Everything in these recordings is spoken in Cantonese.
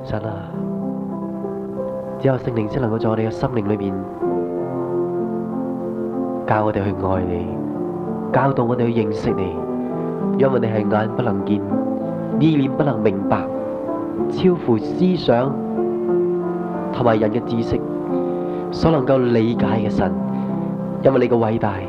神啊，只有聖靈先能夠在我哋嘅生命裏邊教我哋去愛你，教導我哋去認識你，因為你係眼不能見，意念不能明白，超乎思想同埋人嘅知識所能夠理解嘅神。因為你嘅偉大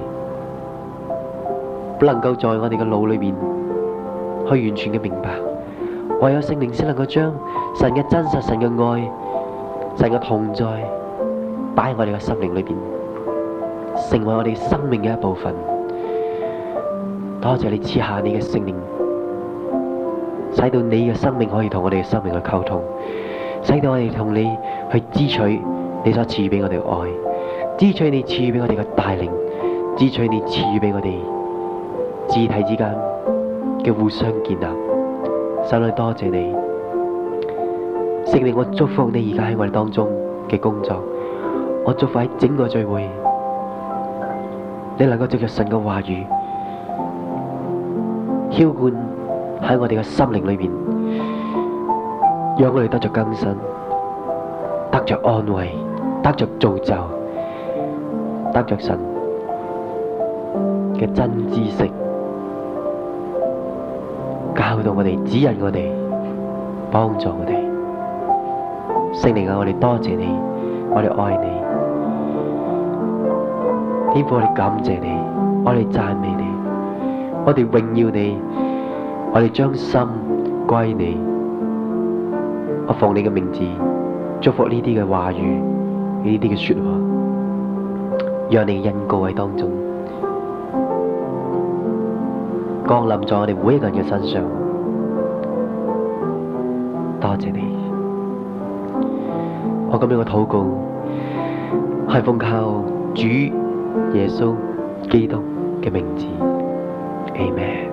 不能夠在我哋嘅腦裏邊去完全嘅明白，唯有聖靈先能夠將神嘅真實、神嘅愛、神嘅同在擺喺我哋嘅心靈裏邊，成為我哋生命嘅一部分。多謝你賜下你嘅聖靈，使到你嘅生命可以同我哋嘅生命去溝通，使到我哋同你去支取你所賜予俾我哋嘅愛，支取你賜予俾我哋嘅帶領，支取你賜予俾我哋肢體之間嘅互相建立。神啊，多謝你，聖靈，我祝福你而家喺我哋當中嘅工作，我祝福喺整個聚會，你能夠藉着神嘅話語澆灌喺我哋嘅心靈裏邊，讓我哋得着更新，得着安慰，得着造就，得着神嘅真知識，教導我哋，指引我哋，幫助我哋。聖靈啊，我哋多謝你，我哋愛你，天父，我哋感謝你，我哋讚美你，我哋榮耀你，我哋將心歸你。我奉你嘅名字祝福呢啲嘅話語，呢啲嘅說話，讓你嘅恩膏喺當中降臨在我哋每一個人嘅身上。多謝你，我咁樣嘅禱告係奉靠主耶穌基督嘅名字。Amen。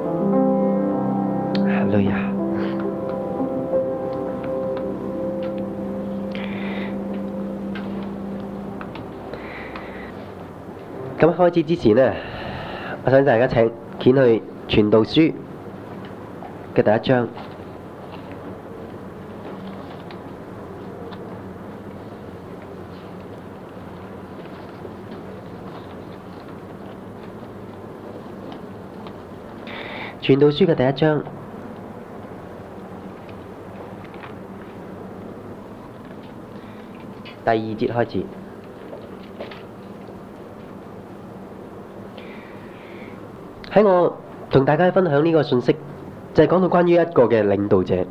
哈利路亞。咁開始之前呢，我想大家請掀去傳道書嘅第一章。傳道書嘅第一章第二節開始。喺我同大家分享呢個信息，就係講到關於一個嘅領導者。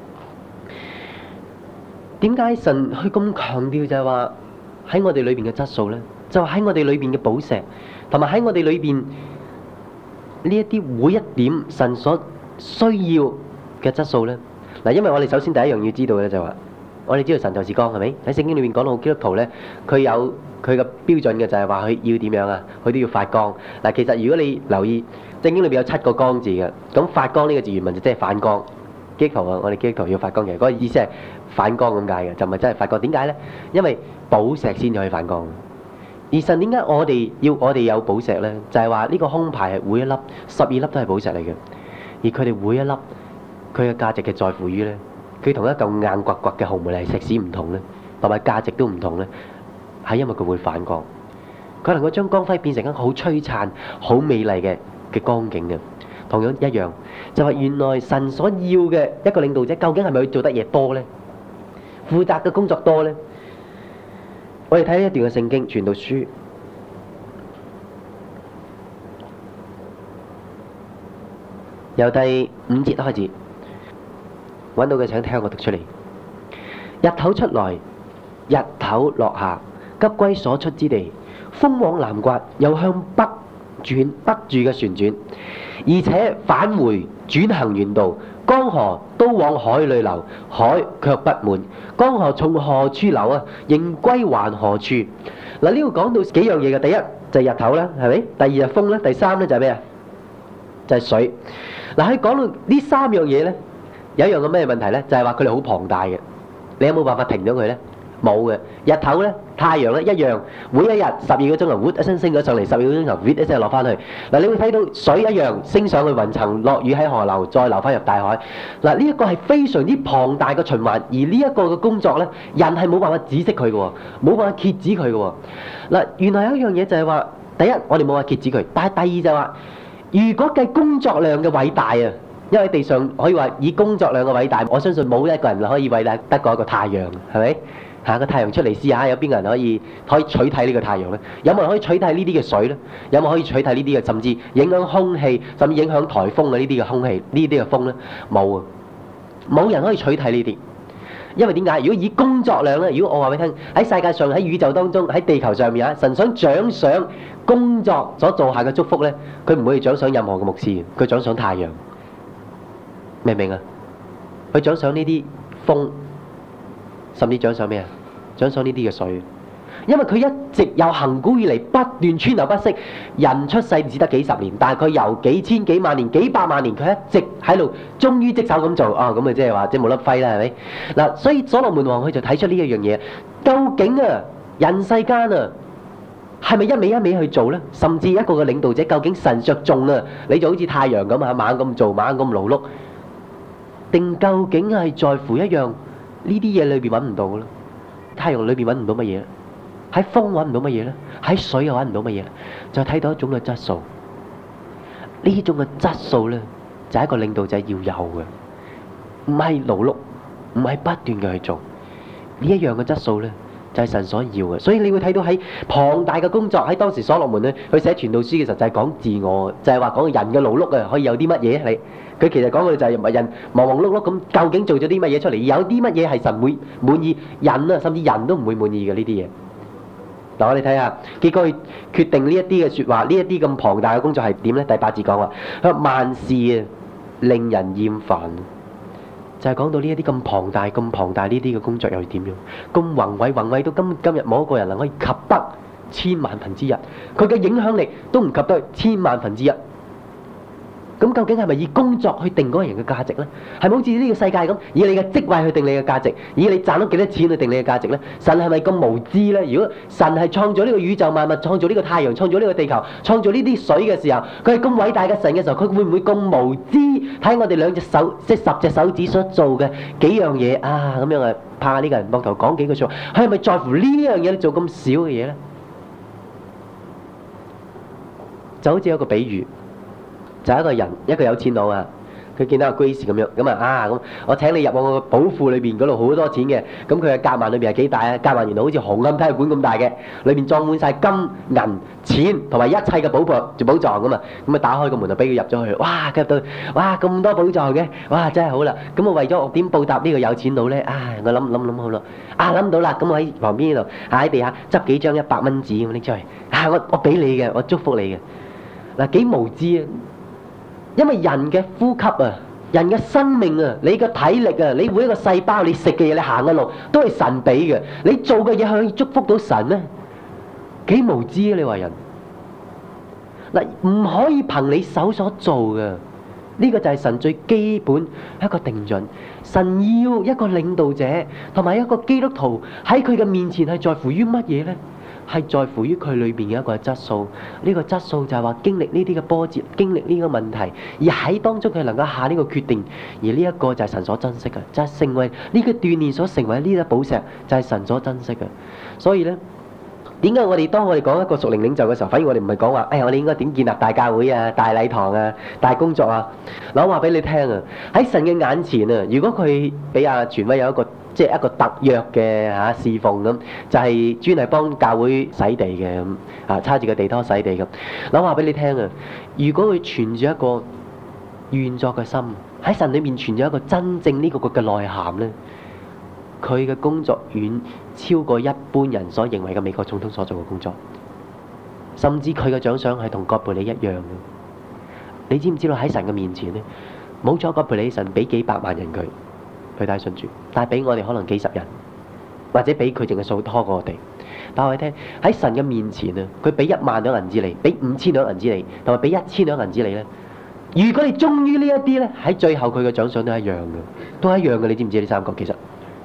點解神去咁強調就係話喺我哋裏邊嘅質素呢？就喺我哋裏邊嘅寶石，同埋喺我哋裏邊呢一啲每一點神所需要嘅質素呢？嗱，因為我哋首先第一樣要知道嘅就係話，我哋知道神就是光，係咪？喺聖經裏面講到基督徒呢，佢有佢嘅標準嘅，就係話佢要點樣啊？佢都要發光。嗱，其實如果你留意聖經裏邊有7個光字嘅，咁發光呢個字原文就即係反光。基督徒啊，我哋基督徒要發光嘅，嗰個意思係反光咁解嘅，就唔係真係發光。點解呢？因為寶石先至可以反光。而神點解我哋有寶石呢？就係話呢個胸牌係每一粒12粒都係寶石嚟嘅，而佢哋每一粒佢嘅價值嘅在乎於呢，佢同一嚿硬刮刮嘅紅毛泥石屎唔同呢，同埋價值都唔同呢，係因為佢會反光，佢能夠將光輝變成一個好璀璨、好美麗嘅光景嘅。同樣一樣，就係原來神所要嘅一個領導者，究竟係咪佢做得嘢多呢？負責嘅工作多呢？我哋睇一段嘅聖經，傳道書由第5節開始，揾到嘅請聽我讀出嚟。日頭出來，日頭落下，急歸所出之地。風往南刮，又向北轉，北住嘅旋轉，而且返回轉行原道。江河都往海裏流，海卻不滿。江河從何處流啊？仍歸還何處？嗱，呢度講到幾樣嘢嘅。第一就係日頭啦，係咪？第二係風啦，第三咧就係咩啊？就係水。嗱，喺講到呢3樣嘢咧，有一樣嘅咩問題咧？就係話佢哋好龐大嘅，你有冇辦法停咗佢咧？ 冇嘅。日頭咧，太陽咧一樣，每一日12個鐘頭，一聲升咗上嚟，12個鐘頭，一聲落翻去。嗱，你會睇到水一樣升上去雲層，落雨喺河流，再流翻入大海。嗱，呢一個係非常之龐大嘅循環，而呢一個嘅工作咧，人係冇辦法止息佢嘅，冇辦法遏止佢嘅。嗱，原來有一樣嘢就係話，第一我哋冇辦法遏止佢，但係第二就係話，如果計工作量嘅偉大啊！因為地上可以話以工作量嘅偉大，我相信冇一個人可以偉大得過一個太陽，係咪？個太陽出嚟試下，有邊個人可以取替呢個太陽呢？有冇人可以取替呢啲嘅水呢？有冇可以取替呢啲嘅，甚至影響空氣，甚至影響颱風嘅呢啲嘅空氣，呢啲嘅風呢？冇啊！冇人可以取替呢啲，因為點解？如果以工作量呢，如果我話俾你聽，喺世界上喺宇宙當中喺地球上面啊，神想獎賞工作所做下嘅祝福呢，佢唔會獎賞任何嘅牧師，佢獎賞太陽。明唔明啊？佢獎賞呢啲風，甚至獎賞咩啊？獎賞呢啲嘅水，因為佢一直由恆古以嚟不斷川流不息。人出世只得幾十年，但係佢由幾千幾萬年、幾百萬年，佢一直喺度忠於職守咁做啊！咁咪即係話即係冇得揮啦，係咪？嗱，所以所羅門王佢就睇出呢一樣嘢，究竟啊人世間啊係咪一味一味去做咧？甚至一個嘅領導者，究竟神着重啊？你就好似太陽咁啊，猛咁做，猛咁勞碌。定究竟係在乎一樣呢啲嘢裏邊揾唔到嘅咯？太陽裏邊揾唔到乜嘢？喺風揾唔到乜嘢咧？喺水又揾唔到乜嘢？就睇到一種嘅質素。呢種嘅質素咧，就係一個領導者要有嘅，唔係勞碌，唔係不斷嘅去做呢一樣嘅質素咧，就係神所要嘅。所以你會睇到喺龐大嘅工作，喺當時所羅門咧，佢寫傳道書嘅時候就係講自我，就係話講人嘅勞碌啊，可以有啲乜嘢你？佢其實講嘅就係人忙忙碌碌咁，究竟做咗啲乜嘢出嚟？有啲乜嘢係神會滿意？人啊，甚至人都唔會滿意嘅呢啲嘢。嗱，我哋睇下，結果佢決定呢一啲嘅説話，呢一啲咁龐大嘅工作係點咧？第8節講話，佢話萬事啊令人厭煩，就係講到呢一啲咁龐大、咁龐大呢啲嘅工作又係點樣？咁宏偉到今日冇一個人能可以及得千萬分之一，佢嘅影響力都唔及得千萬分之一。咁究竟係咪以工作去定嗰個人嘅價值呢？係咪好似呢個世界咁，以你嘅職位去定你嘅價值，以你賺到幾多錢去定你嘅價值呢？神係咪咁無知呢？如果神係創造呢個宇宙萬物，創造呢個太陽，創造呢個地球，創造呢啲水嘅時候，佢係咁偉大嘅神嘅時候，佢會唔會咁無知睇我哋兩隻手，即係10隻手指所做嘅幾樣嘢啊？咁樣啊，拍下呢個人膊頭講幾句説話，佢係咪在乎呢樣嘢做咁少嘅嘢呢？就好似有個比喻。就係一個人，一個有錢佬啊！佢見到阿 Grace 咁樣，咁我請你入我個寶庫裏邊嗰度好多錢嘅，咁佢嘅夾萬裏邊係幾大啊？夾萬原來好似紅磡體育館咁大嘅，裏邊裝滿晒金銀錢同埋一切嘅寶藏咁啊！咁啊打開個門就俾佢入咗去，哇！入到，哇咁多寶藏嘅，哇真係好啦！咁我為咗我點報答呢個有錢佬咧？我諗好咯，諗到啦！咁我喺旁邊呢度喺地下執幾張100蚊紙咁拎出去，我俾你嘅，我祝福你嘅。嗱，幾無知啊！因為人嘅呼吸啊，人嘅生命啊，你嘅體力啊，你每一個細胞，你食嘅嘢，你行嘅路，都係神俾嘅。你做嘅嘢可以祝福到神咩？幾無知啊！你話人嗱，唔可以憑你手所做嘅。呢個就係神最基本一個定準。神要一個領導者同埋一個基督徒喺佢嘅面前係在乎於乜嘢呢？係在乎於佢裏邊嘅一個質素，呢個質素就係話經歷呢啲嘅波折，經歷呢個問題，而喺當中佢能夠下呢個決定，而呢一個就係神所珍惜嘅，就係成為呢個鍛鍊所成為呢粒寶石，就係神所珍惜嘅。所以呢，點解當我哋講一個屬靈領袖嘅時候，反而我哋唔係講話，我哋應該點建立大教會啊、大禮堂啊、大工作啊？嗱，我話俾你聽啊，喺神嘅眼前啊，如果佢俾阿傳威有一個即係一個特約嘅侍奉咁，就係專係幫教會洗地嘅咁，叉住個地拖洗地咁。嗱，我話俾你聽啊，如果佢存住一個願作嘅心，喺神裏面存住一個真正呢個嘅內涵咧，佢嘅工作遠超過一般人所認為嘅美國總統所做嘅工作，甚至佢嘅獎賞係同葛培理一樣嘅。你知唔知道喺神嘅面前咧，冇咗葛培理，神俾幾百萬人佢帶信主，但係俾我哋可能幾十人，或者俾佢淨係數拖過我哋。但我哋聽喺神嘅面前啊，佢俾1萬兩銀子你，俾5000兩銀子你，同埋俾1000兩銀子你咧。如果你忠於呢一啲咧，喺最後佢嘅獎賞都係一樣嘅，都係一樣嘅。你知唔知呢3個其實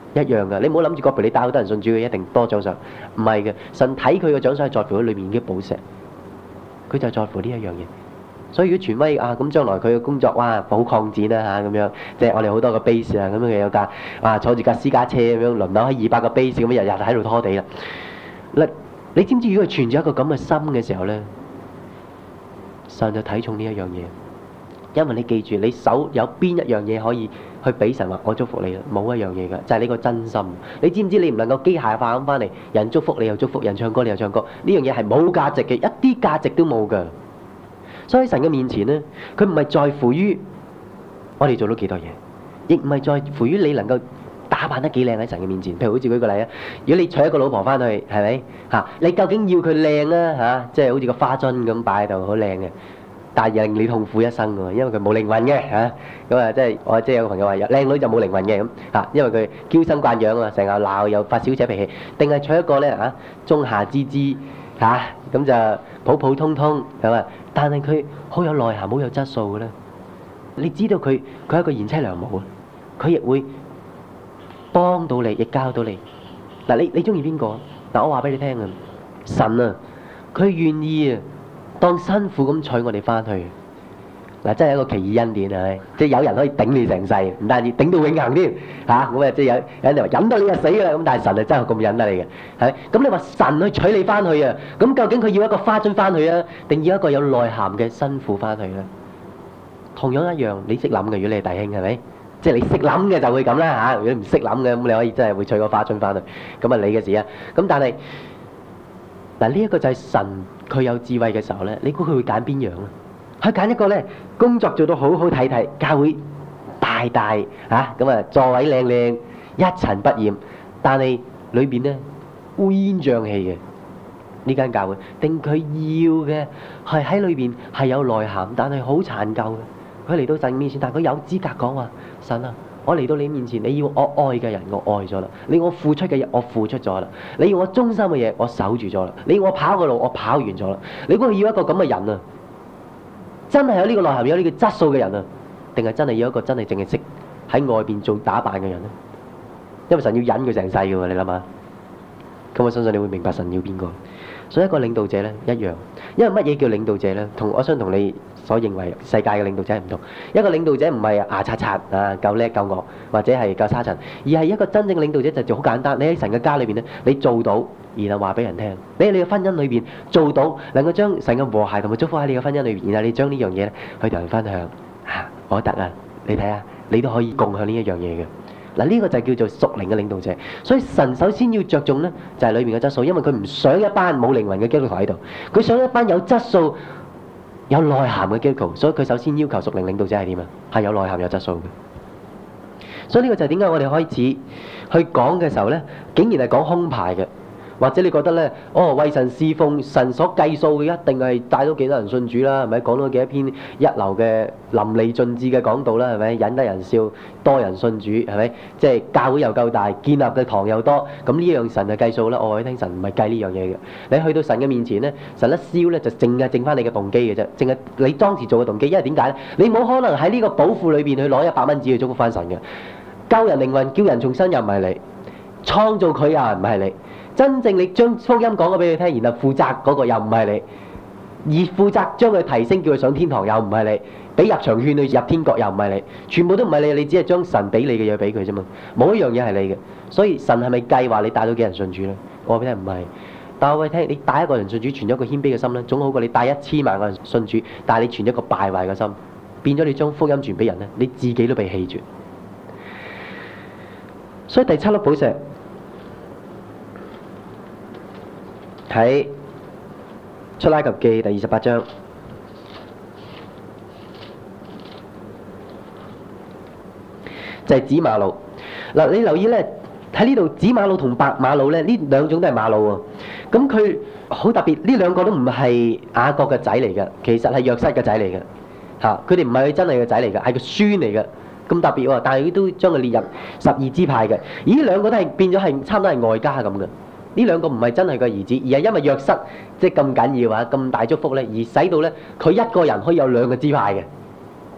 一樣噶。你唔好諗住個譬如你帶好多人信主，佢一定多獎賞，唔係嘅。神睇佢嘅獎賞係在乎佢裏面嘅寶石，佢就係在乎呢一樣嘢。所以如果傳威啊，咁將來佢嘅工作哇好擴展啦嚇咁樣，即係我哋好多個 base 啊，咁樣有架坐住架私家車咁樣輪流喺200個 base 咁樣日日喺度拖地啦。嗱，你知唔知如果佢存住一個咁嘅心嘅時候咧，神就睇重呢一樣嘢，因為你記住，你手有邊一樣嘢可以去俾神話我祝福你啦？冇一樣嘢㗎，就係你個真心。你知唔知你唔能夠機械化咁翻嚟，人祝福你又祝福，人唱歌你又唱歌，呢樣嘢係冇價值嘅，一啲價值都冇㗎。所以喺神嘅面前咧，佢唔係在乎於我哋做到幾多嘢，亦唔係在乎於你能夠打扮得幾靚喺神嘅面前。譬如好似舉個例啊，如果你娶一個老婆翻去，係咪嚇？你究竟要佢靚啊嚇？即係好似個花樽咁擺喺度，好靚嘅，但係令你痛苦一生㗎，因為佢冇靈魂嘅嚇。咁啊，即係我即係有個朋友話，靚女就冇靈魂嘅咁嚇，因為佢嬌生慣養啊，成日鬧又發小姐脾氣，定係娶一個咧嚇中下之姿嚇，咁就普普通通係嘛？但係佢好有內涵、好有質素嘅咧。你知道佢係一個賢妻良母啊，佢亦會幫到你，亦教到你。嗱，你中意邊個？嗱，我話俾你聽啊，神啊，佢願意啊，當辛苦咁娶我哋翻去。嗱，真係一個奇異恩典啊！即係有人可以頂你成世，唔單止頂到永恆添嚇。咁啊，即係有人哋話忍到你就死㗎啦。咁但係神係真係咁忍得你嘅，係。咁你話神去娶你翻去啊？咁究竟佢要一個花樽翻去啊，定要一個有內涵嘅新婦翻去咧？同樣一樣，你識諗嘅，如果你係弟兄係咪？即係你識諗嘅就會咁啦嚇。如果你唔識諗嘅，咁你可以真係會娶個花樽翻去，咁啊你嘅事啊。咁但係嗱，呢一個就係神佢有智慧嘅時候咧，你估佢會揀邊樣咧？佢揀一個咧，工作做到好好睇睇，教會大大嚇咁啊，座位靚靚，一塵不染，但係裏邊咧烏煙瘴氣嘅呢間教會，定佢要嘅係喺裏邊係有內涵，但係好殘舊嘅。佢嚟到神面前，但係佢有資格講話：神啊，我嚟到你面前，你要我愛嘅人，我愛咗啦；你要我付出嘅嘢，我付出咗啦；你要我忠心嘅嘢，我守住咗啦；你要我跑嘅路，我跑完咗啦。你估佢要一個咁嘅人啊？真係有呢個內涵、有呢個質素嘅人啊，定係真係要一個真係淨係識喺外邊做打扮嘅人咧？因為神要忍佢成世嘅喎，你諗下。咁我相信你會明白神要邊個。所以一個領導者咧一樣，因為乜嘢叫領導者咧？我想同你所認為世界嘅領導者係唔同。一個領導者唔係牙刷刷啊，夠叻夠惡，或者係夠沙塵，而係一個真正嘅領導者就好簡單。你喺神嘅家裏邊咧，你做到，然後話俾人聽。你喺你嘅婚姻裏邊做到，能夠將神嘅和諧同埋祝福喺你嘅婚姻裏邊，然後你將呢樣嘢咧去同人分享嚇，我得啊！你睇下，你都可以共享呢一樣嘢嘅。嗱，呢個就叫做屬靈嘅領導者。所以神首先要着重咧，就係裏面嘅質素，因為佢唔想一班冇靈魂嘅基督徒喺度，佢想一班有質素、有內涵嘅基督徒。所以佢首先要求屬靈領導者係點啊？係有內涵、有質素嘅。所以呢個就係點解我哋開始去講嘅時候咧，竟然係講胸牌嘅。或者你覺得咧，為神侍奉，神所計數嘅一定係帶到幾多人信主啦，係咪？講到幾多篇一流嘅淋漓盡致嘅講道啦，係咪？引得人笑，多人信主，係咪？即係教會又夠大，建立嘅堂又多，咁呢樣神就計數啦。我話你聽，神唔係計呢樣嘢嘅。你去到神嘅面前咧，神一燒咧就淨係剩翻你嘅動機嘅啫，淨係你當時做嘅動機。因為點解咧？你冇可能喺呢個寶庫裏邊去攞100蚊紙去祝福翻神嘅。救人靈魂、叫人重生又唔係你，創造佢又唔係你。真正你將福音講咗俾佢聽，然後負責嗰個又唔係你，而負責將佢提升叫佢上天堂又唔係你，俾入場券去入天國又唔係你，全部都唔係你，你只係將神俾你嘅嘢俾佢啫嘛，冇一樣嘢係你嘅。所以神係咪計劃你帶到幾人信主咧？我話俾你聽唔係，但係我話你聽，你帶一個人信主，存咗一個謙卑嘅心咧，總好過你帶1000萬個人信主，但係你存一個敗壞嘅心，變咗你將福音傳俾人咧，你自己都被棄絕。所以第7粒寶石。喺出埃及記第28章，就係紫瑪瑙。嗱，你留意咧，喺呢度紫瑪瑙同白瑪瑙咧，呢兩種都係瑪瑙喎。咁佢好特別，呢兩個都唔係雅各嘅仔嚟嘅，其實係約瑟嘅仔嚟嘅。嚇，佢哋唔係佢真係嘅仔嚟嘅，係個孫嚟嘅。咁特別喎，但係佢都將佢列入12支派嘅。而呢兩個都係變咗係差唔多係外家咁嘅。呢兩個唔係真係個兒子，而係因為約瑟即係咁緊要啊，咁大祝福咧，而使到咧佢一個人可以有2個支派嘅。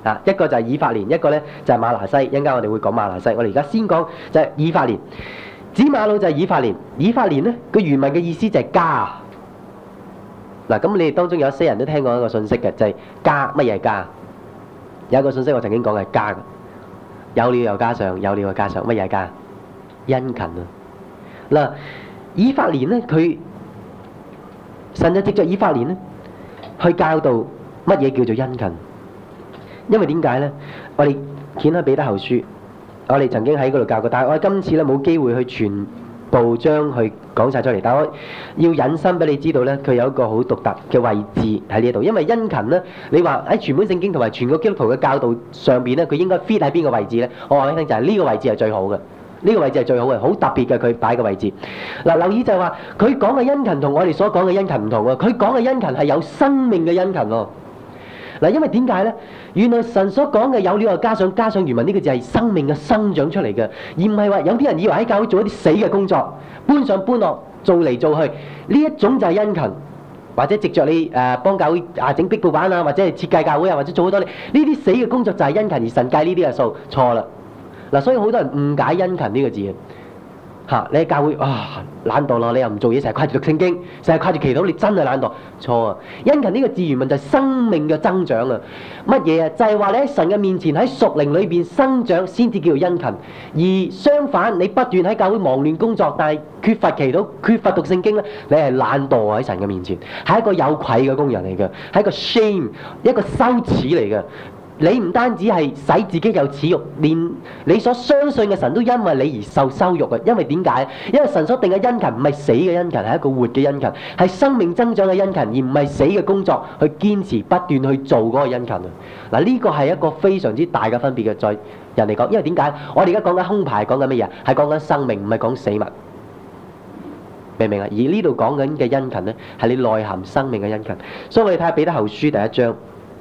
啊，一個就係以法蓮，一個咧就係瑪拿西。一陣間我哋會講瑪拿西，我哋而家先講就係以法蓮。子瑪路就係以法蓮，以法蓮咧個原文嘅意思就係家。嗱，咁你哋當中有些人都聽過一個信息嘅，就係家。乜嘢係家？有一個信息我曾經講係家嘅，有了又加上，有了又加上，乜嘢係家？殷勤啊！嗱，以法蓮咧，佢神就藉着以法蓮咧去教導乜嘢叫做殷勤。因為點解咧？我哋掀開彼得後書，我哋曾經喺嗰度教過，但係我哋今次咧冇機會去全部將佢講晒出嚟。但係我要引申俾你知道咧，佢有一個好獨特嘅位置喺呢度。因為殷勤咧，你話喺全本聖經同埋全個基督徒嘅教導上邊咧，佢應該 fit 喺邊個位置咧？我話俾你聽就係呢個位置係最好嘅。呢個位置係最好嘅，好特別嘅佢擺嘅位置。嗱，留意就係話，佢講嘅殷勤同我哋所講嘅殷勤唔同喎。佢講嘅殷勤係有生命嘅殷勤喎。嗱，因為點解咧？原來神所講嘅有料又加上原文呢個字係生命嘅生長出嚟嘅，而唔係話有啲人以為喺教會做一啲死嘅工作，搬上搬落，做嚟做去，呢一種就係殷勤，或者藉着你幫教會整壁布板啊，或者係設計教會啊，或者做好多呢啲死嘅工作就係殷勤，而神計呢啲嘅數錯啦。嗱，所以好多人誤解殷勤呢個字嚇，你喺教會懶惰咯，你又唔做嘢，成日掛住讀聖經，成日掛住祈禱，你真係懶惰，錯啊！殷勤呢個字原文就係生命嘅增長啊！乜嘢啊？就係話你喺神嘅面前喺屬靈裏邊生長先至叫做殷勤，而相反你不斷喺教會忙亂工作，但係缺乏祈禱、缺乏讀聖經咧，你係懶惰喺神嘅面前，係一個有愧嘅工人嚟嘅，係一個 shame， 一個羞恥嚟嘅。你唔單止係使自己有恥辱，連你所相信嘅神都因為你而受羞辱嘅。因為點解？因為神所定嘅殷勤唔係死嘅殷勤，係一個活嘅殷勤，係生命增長嘅殷勤，而唔係死嘅工作去堅持不斷去做嗰個殷勤啊！嗱，呢個係一個非常之大嘅分別嘅，在人嚟講。因為點解？我哋而家講緊胸牌，講緊乜嘢？係講緊生命，唔係講死物，明唔明啊？而呢度講緊嘅殷勤咧，係你內涵生命嘅殷勤。所以我哋睇下彼得後書第一章。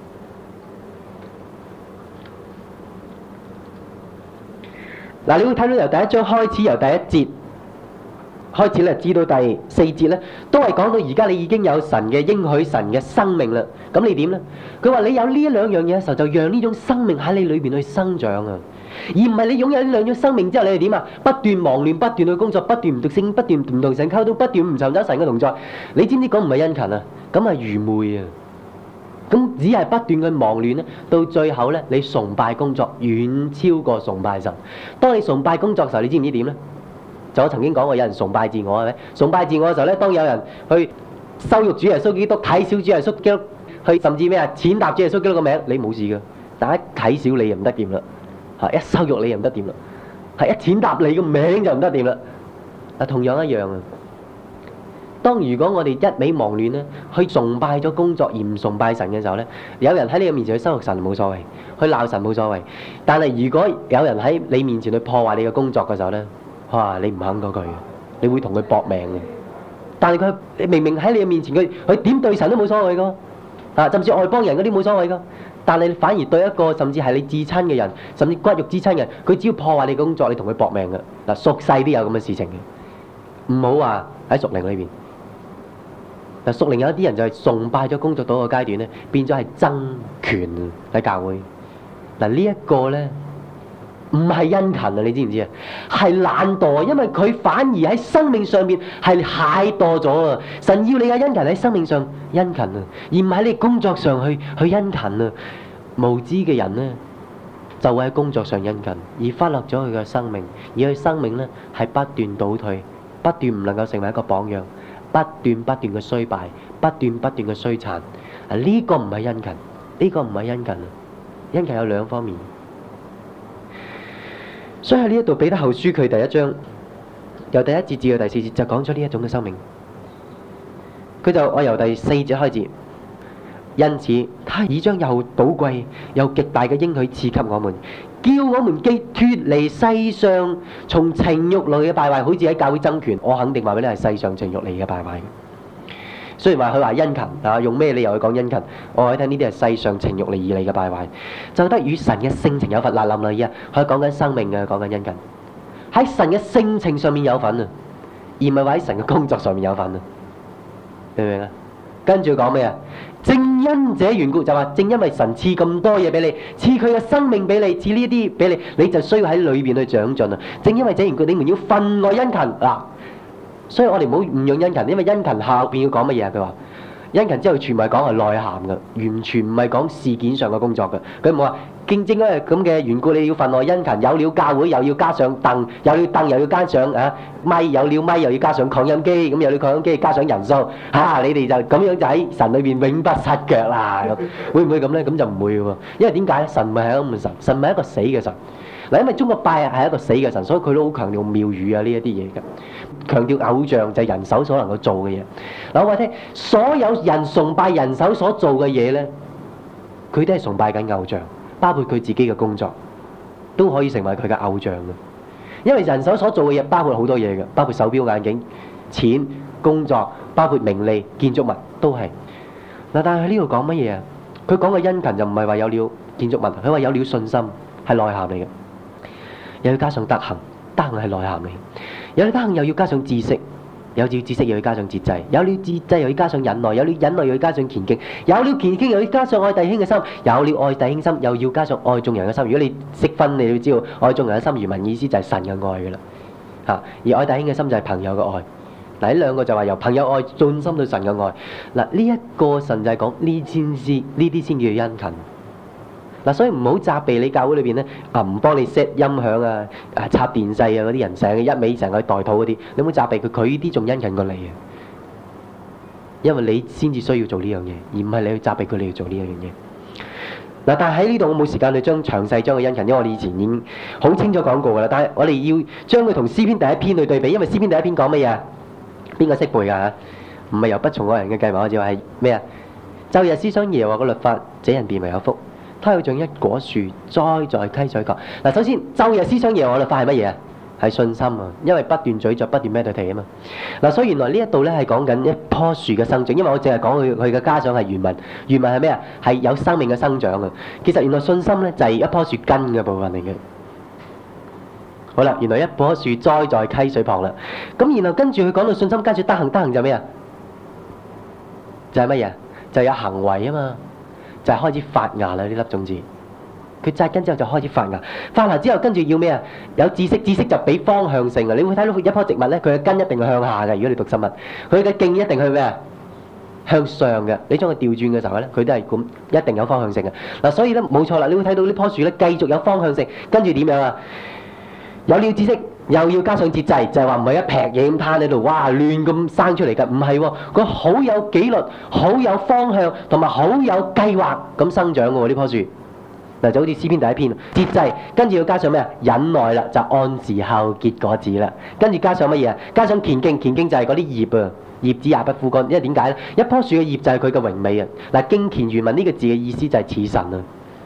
嗱，你會睇到由第一章開始，由第一節開始咧，至到第四節咧，都係講到而家你已經有神嘅應許、神嘅生命啦。咁你點咧？佢話你有呢一兩樣嘢嘅時候，就讓呢種生命喺你裏邊去生長啊，而唔係你擁有呢兩種生命之後，你係點啊？不斷忙亂，不斷去工作，不斷唔讀聖，不斷唔同神溝通，不斷唔尋找神嘅同在。你知唔知講唔係殷勤啊？咁係愚昧啊！咁只係不斷去忙亂咧，到最後咧，你崇拜工作遠超過崇拜神。當你崇拜工作嘅時候，你知唔知點咧？就我曾經講過，有人崇拜自我係咪？崇拜自我嘅時候咧，當有人去羞辱主耶穌基督、睇小主耶穌基督，去甚至咩啊，踐踏主耶穌基督個名，你冇事㗎。但係一睇小你又唔得掂啦，一羞辱你又唔得掂啦，係一踐踏你個名就唔得掂啦。同樣一樣啊。當如果我哋一味忙亂咧，去崇拜咗工作而唔崇拜神嘅時候咧，有人喺你嘅面前去羞辱神冇所謂，去鬧神冇所謂。但係如果有人喺你面前去破壞你嘅工作嘅時候咧，哇！你唔肯過佢，你會同佢搏命嘅。但係佢明明喺你嘅面前，佢點對神都冇所謂噶，甚至外邦人嗰啲冇所謂噶。但係你反而對一個甚至係你至親嘅人，甚至骨肉之親嘅人，佢只要破壞你嘅工作，你同佢搏命嘅。嗱，屬世都有咁嘅事情嘅，唔好話喺屬靈裏邊。嗱，屬靈有一啲人就係崇拜咗工作到個階段咧，變咗係爭權喺教會。嗱，呢一個咧唔係殷勤啊，你知唔知啊？係懶惰，因為佢反而喺生命上面係懈惰咗啊！神要你嘅殷勤喺生命上殷勤啊，而唔喺你工作上去殷勤啊。無知嘅人咧就會喺工作上殷勤，而忽略咗佢嘅生命，而佢生命咧係不斷倒退，不斷唔能夠成為一個榜樣。不斷嘅衰敗，不斷嘅衰殘。呢個唔係殷勤，呢個唔係殷勤啊！殷勤有兩方面。所以喺呢一度彼得後書佢第一章由第一節至到第四節就講咗呢一種嘅生命。我由第四節開始，因此他已將又寶貴又極大嘅應許賜給我們，叫我們既脫離世上從情慾嚟嘅敗壞，好似喺教會爭權，我肯定話俾你係世上情慾嚟嘅敗壞。雖然話佢話殷勤用咩理由去講殷勤？我話你聽呢啲係世上情慾嚟而嚟嘅敗壞，就得與神嘅性情有份。嗱，諗啦，依家佢講緊生命嘅，講緊殷勤，喺神嘅性情上面有份啊，而唔係話喺神嘅工作上面有份啊，明唔明啊？跟住講咩啊？正因這緣故，就話正因為神賜咁多嘢俾你，賜佢嘅生命俾你，賜呢啲俾你，你就需要喺裏邊去長進啊！正因為這緣故，你們要分外殷勤嗱。所以我哋唔好誤用殷勤，因為殷勤下邊要講乜嘢啊？佢話殷勤之後全部係講係內涵嘅，完全唔係講事件上嘅工作嘅。佢唔好話正因為咁嘅緣故，你要分外殷勤。有了教會又要加上凳，有了凳又要加上咪，有了咪又要加上擴音機，咁有了擴音機加上人數你哋就咁樣就喺神裏邊永不失腳啦。會唔會咁咧？咁就唔會喎，因為點解咧？神唔係一個咁嘅神，神唔係一個死嘅神。嗱，因為中國拜係一個死嘅神，所以佢都好強調廟宇啊呢一啲嘢嘅，強調偶像就係人手所能夠做嘅嘢。嗱，我話聽，所有人崇拜人手所做嘅嘢咧，佢都係崇拜緊偶像，包括佢自己嘅工作都可以成為佢嘅偶像嘅。因為人手所做嘅嘢包括好多嘢嘅，包括手錶、眼鏡、錢、工作，包括名利、建築物都係。嗱，但係喺呢度講乜嘢啊？佢講嘅殷勤就唔係話有了建築物，佢話有了信心係內涵嚟嘅。又要加上德行，德行係內涵嚟。有了德行又要加上知識，有了知識又要加上節制，有了節制又要加上忍耐，有了忍耐又要加上虔敬，有了虔敬又要加上愛弟兄嘅心，有了愛弟兄心又要加上愛眾人嘅心。如果你識分，你要知道愛眾人嘅心原文意思就係神嘅愛㗎啦。而愛弟兄嘅心就係朋友嘅愛。嗱，呢兩個就話由朋友愛進心到神嘅愛。嗱，呢一個神就係講呢啲先叫殷勤。嗱，所以唔好責備你教會裏邊咧，唔幫你 set 音響啊、插電掣啊嗰啲人，成日一味成日去代禱嗰啲，你唔好責備佢，佢呢啲仲殷勤過你啊！因為你先至需要做呢樣嘢，而唔係你去責備佢，你要做呢樣嘢。嗱，但係喺呢度我冇時間去詳細將佢殷勤，因為我哋以前已經好清楚講過㗎啦。但係我哋要將佢同詩篇第一篇去對比，因為詩篇第一篇講乜嘢啊？邊個識背㗎嚇？唔係由不從愛人嘅計謀，我就話係咩啊？晝日思想耶和華嘅律法，這人便為有福。他要像一果樹栽在溪水旁。嗱，首先晝日思想耶和華律法係乜嘢啊？係信心啊，因為不斷咀嚼、不斷 meditate 啊嘛。嗱，所以原來呢一度咧係講緊一棵樹嘅生長，因為我淨係講佢嘅家長係原文，原文係咩啊？係有生命嘅生長啊。其實原來信心咧就係一棵樹根嘅部分嚟嘅。好啦，原來一棵樹栽在溪水旁啦。咁然後跟住佢講到信心，跟住德行，德行就係咩啊？就係乜嘢？就係有行為啊嘛。就係開始發芽啦！呢粒種子，佢扎根之後就開始發芽，發芽之後跟住要咩啊？有知識，知識就俾方向性啊！你會睇到一棵植物咧，佢嘅根一定係向下嘅。如果你讀生物，佢嘅莖一定去咩啊？向上嘅。你將佢調轉嘅時候咧，佢都係咁，一定有方向性嘅。嗱，所以咧冇錯啦，你會睇到呢棵樹咧繼續有方向性，跟住點樣啊？有了知識，又要加上節制，就係話唔係一劈嘢咁攤喺度，哇亂咁生出嚟㗎，唔係喎，佢好有紀律、好有方向同埋好有計劃咁生長嘅喎呢棵樹。嗱，就好似詩篇第一篇，節制，跟住要加上咩啊？忍耐啦，就按時候結果子啦。跟住加上乜嘢啊？加上虔敬，虔敬就係嗰啲葉啊，葉子也不枯乾。因為點解咧？一棵樹嘅葉就係佢嘅榮美啊。嗱，敬虔原文呢個字嘅意思就係似神啊。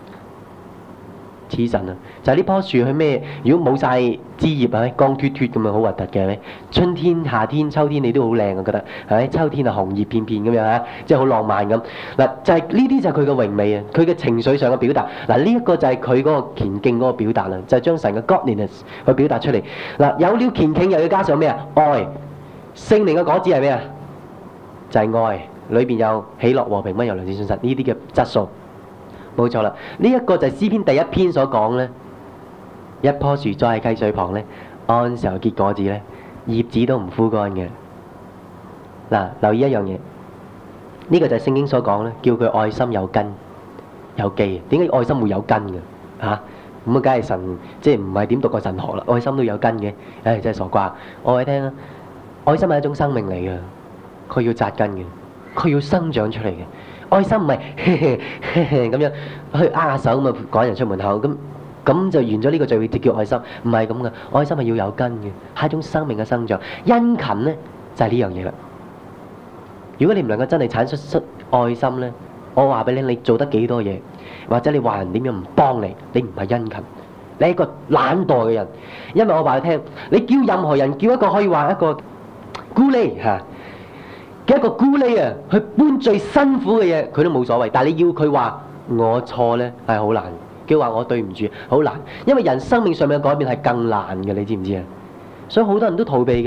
似神啊，就係呢棵樹去咩？如果冇晒枝葉係咪光脫脫咁啊，好核突嘅係咪？春天、夏天、秋天你都好靚啊，覺得係咪？秋天啊紅葉片片咁樣嚇，即係好浪漫咁。嗱，就係呢啲就係佢嘅榮美啊，佢嘅情緒上嘅表達。嗱，呢一個就係佢嗰個虔敬嗰個表達啦，就係將神嘅 godliness 去表達出嚟。嗱，有了虔敬又要加上咩啊？愛，聖靈嘅果子係咩啊？就係愛，裏邊有喜樂、和平、溫柔、良善、信實呢啲嘅質素。冇錯啦，呢一個就係詩篇第一篇所講咧，一棵樹栽喺溪水旁咧，按時候結果子咧，葉子都唔枯乾嘅。嗱，留意一樣嘢，呢個就係聖經所講咧，叫佢愛心有根有基。點解愛心會有根嘅？嚇，咁啊，梗係神即係唔係點讀過神學啦？愛心都有根嘅，唉，真係傻瓜！我話你聽啊，愛心係一種生命嚟嘅，佢要扎根嘅，佢要生長出嚟嘅。愛心唔係咁樣去握下手咁啊趕人出門口咁就完咗呢個聚會就叫愛心，唔係咁嘅。愛心係要有根嘅，係一種生命嘅生長。殷勤咧就係呢樣嘢啦。如果你唔能夠真係產出愛心咧，我話俾你，你做得幾多嘢，或者你話人點樣唔幫你，你唔係殷勤，你係一個懶惰嘅人。因為我話你聽，你叫任何人叫一個可以話一個咕喱嚇嘅一個咕喱啊，去搬最辛苦嘅嘢，佢都冇所謂。但係你要佢話我錯咧，係好難。叫話我對唔住，好難。因為人生命上面嘅改變係更難嘅，你知唔知啊？所以好多人都逃避嘅，好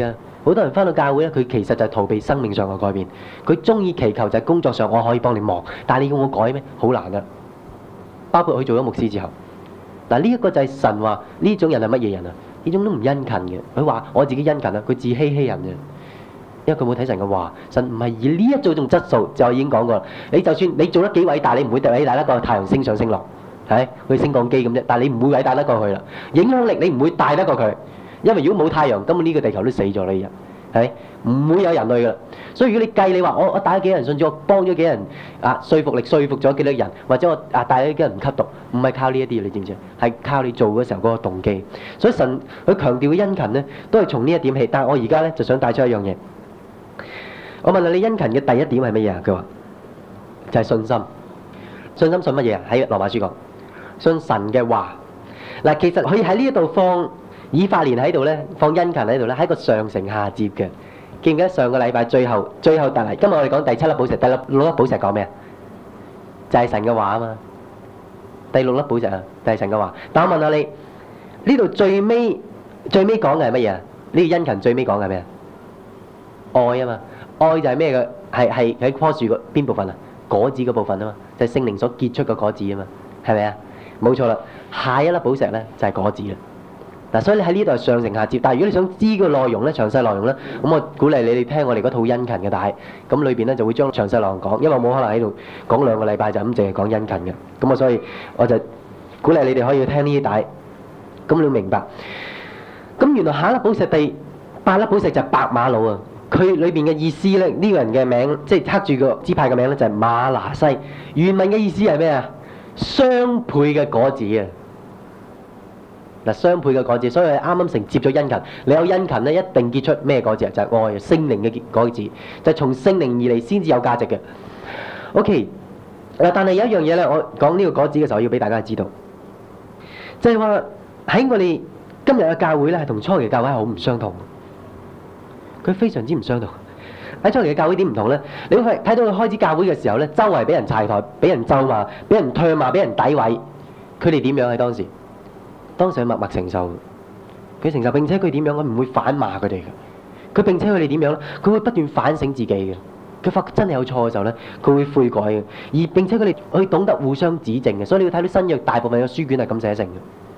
好多人翻到教會咧，佢其實就係逃避生命上嘅改變。佢中意祈求就係工作上我可以幫你忙，但係你要我改咩？好難啊！包括佢做咗牧師之後，嗱呢一個就係神話呢種人係乜嘢人啊？呢種都唔殷勤嘅。佢話我自己殷勤啊，佢自欺欺人嘅。因為佢冇睇神嘅話，神唔係以呢一種質素，就已經講過啦。你就算你做得幾偉大，你唔會偉大得過太陽升上升落，係佢升降機咁啫。但係你唔會偉大得過佢啦。影響力你唔會大得過佢，因為如果冇太陽，根本呢個地球都死咗啦，依日係唔會有人類噶啦。所以如果你計你話我帶咗幾人信主，我幫咗幾人說服力說服咗幾多人，或者我帶咗幾人唔吸毒，唔係靠呢一啲，你知唔知？係靠你做嘅時候嗰個動機。所以神佢強調嘅殷勤咧，都係從呢一點起。但係我而家咧就想帶出一樣嘢。我問下你殷勤嘅第一點係乜嘢啊？佢話就係信心。信心信乜嘢啊？喺羅馬書講信神嘅話。嗱，其實佢喺呢一度放以法蓮喺度咧，放殷勤喺度咧，係一個上承下接嘅。記唔記得上個禮拜最後但係今日我哋講第七粒寶石，第六粒寶石講咩啊？就係神嘅話啊嘛。第六粒寶石啊，就係神嘅話。但我問下你，呢度最尾講嘅係乜嘢啊？呢個殷勤最尾講嘅係咩啊？愛啊嘛。愛就係咩嘅？係喺棵樹個邊部分啊？果子嗰部分啊嘛，就係聖靈所結出嘅果子啊嘛，係咪啊？冇錯啦。下一粒寶石咧就係果子啦。嗱，所以你喺呢度係上承下接。但係如果你想知個內容咧，詳細內容咧，咁我鼓勵你哋聽我哋嗰套殷勤嘅帶，咁裏邊咧就會將詳細內容講，因為我冇可能喺度講2個禮拜就咁淨係講殷勤嘅。咁所以我就鼓勵你哋可以聽呢啲帶，咁你要明白。咁原來下一粒寶石第8粒寶石就係白馬魯啊。佢裏邊嘅意思咧，呢個人嘅名即係刻住個支派嘅名咧，就係馬拿西。原文嘅意思係咩啊？雙倍嘅果子啊！嗱，雙倍嘅果子，所以啱啱承接咗殷勤。你有殷勤咧，一定結出咩果子啊？就係愛，聖靈嘅果子，就係從聖靈而嚟先至有價值嘅。OK，嗱，但係有一樣嘢咧，我講呢個果子嘅時候要俾大家知道，就係話喺我哋今日嘅教會咧，係同初期教會係好唔相同。佢非常之唔相同。喺初期嘅教會點唔同咧？你會睇到佢開始教會嘅時候咧，周圍俾人柴台、俾人咒罵、俾人唾罵、俾人詆毀。佢哋點樣喺當時？當時佢默默承受，佢承受，並且佢點樣？佢唔會反罵佢哋嘅。佢並且佢哋點樣咧？佢會不斷反省自己嘅。佢發覺真係有錯嘅時候咧，佢會悔改嘅。而並且佢哋去懂得互相指正嘅。所以你要睇到新約大部分嘅書卷係咁寫成嘅。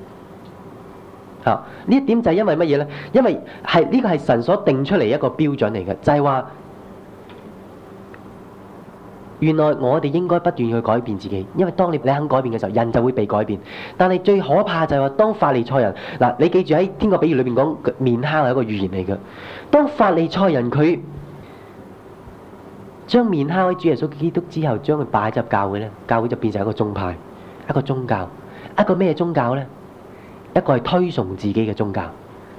呢一點就係因為乜嘢咧？因為呢個係神所定出嚟一個標準嚟嘅，就係話原來我哋應該不斷去改變自己，因為當你肯改變嘅時候，人就會被改變。但係最可怕就係話，當法利賽人嗱，你記住喺天國比喻裏邊講麵酵係一個預言嚟嘅。當法利賽人佢將麵酵喺主耶穌基督之後，將佢擺入教會咧，教會就變成一個宗派、一個宗教、一個咩宗教咧？一個係推崇自己嘅宗教，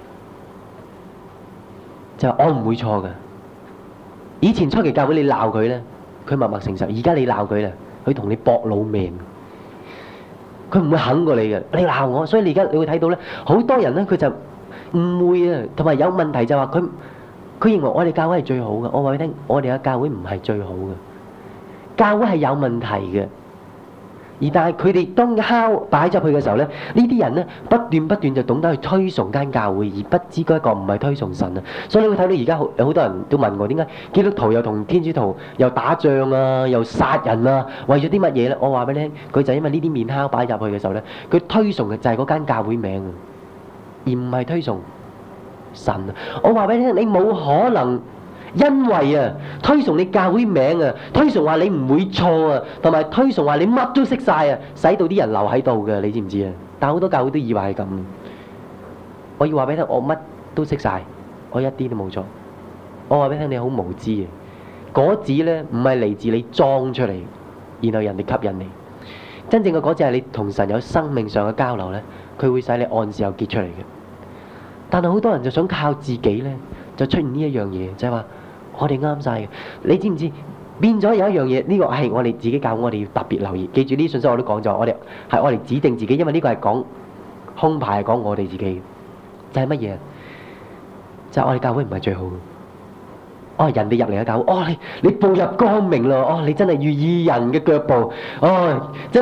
就係我唔會錯嘅。以前初期教會你鬧佢咧，佢默默承受；而家你鬧佢咧，佢同你搏老命，佢唔會肯過你嘅。你鬧我，所以你而家你會睇到咧，好多人咧佢就誤會啊，同埋有問題就話佢認為我哋教會係最好嘅。我話你聽，我哋嘅教會唔係最好嘅，教會係有問題嘅。而但係佢哋當敲擺入去嘅時候咧，呢啲人咧不斷就懂得去推崇間教會，而不知嗰一個唔係推崇神啊！所以你會睇到而家有好多人都問我點解基督徒又同天主徒又打仗啊，又殺人啊，為咗啲乜嘢咧？我話俾你聽，佢就因為呢啲麵酵擺入去嘅時候咧，佢推崇嘅就係嗰間教會名，而唔係推崇神啊！我話俾你聽，你冇可能。因為啊，推崇你教會名啊，推崇話你唔會錯啊，同埋推崇話你乜都識晒啊，使到啲人留喺度嘅，你知唔知啊？但係好多教會都以為係咁。我要話俾你聽，我乜都識晒，我一啲都冇錯。我話俾你聽，你好無知啊！果子咧唔係嚟自你裝出嚟，然後人哋吸引你。真正嘅果子係你同神有生命上嘅交流咧，佢會使你按時候結出嚟嘅。但係好多人就想靠自己咧，就出現呢一樣嘢，就係話。我哋啱晒嘅，你知唔知變咗有一樣嘢？呢個係我哋自己教，我哋要特別留意。記住呢啲信息我都講咗，我哋指定自己，因為呢個係講空牌，係講我哋自己嘅。就係乜嘢？就係我哋教會唔係最好嘅。人哋入嚟嘅教會，你步入光明咯，你真係如義人嘅腳步，真係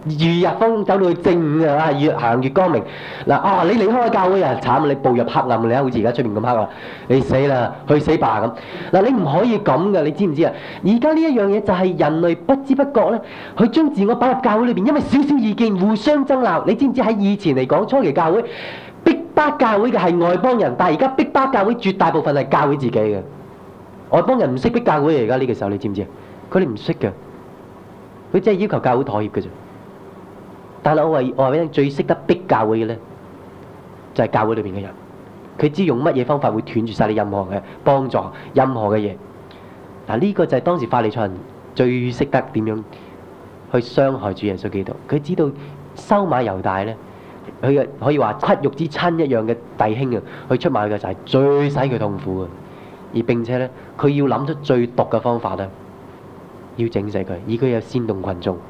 如日風走到去正午啊，越行越光明。嗱你離開教會啊，慘！你步入黑暗，你好似而家出面咁黑啊，你死啦，去死吧咁。嗱，你唔可以咁噶，你知唔知啊？而家呢一樣嘢就係人類不知不覺咧，去將自我擺入教會裏邊，因為少少意見互相爭鬧。你知唔知喺以前嚟講，初期教會逼迫教會嘅係外邦人，但係而家逼迫教會絕大部分係教會自己嘅。外邦人唔識逼教會，而家呢個時候你知唔知啊？佢哋唔識嘅，佢只係要求教會妥協嘅啫。但係我話俾你聽，最識得逼教會嘅咧，就係教會裏邊嘅人。佢知用乜嘢方法會斷絕晒你任何嘅幫助，任何嘅嘢。嗱，呢個就係當時法利賽人最識得點樣去傷害主耶穌基督。佢知道收買猶大咧，佢嘅可以話骨肉之親一樣嘅弟兄啊，去出賣佢嘅就係最使佢痛苦嘅。而並且咧，佢要諗出最毒嘅方法咧，要整死佢，而佢又煽動群眾。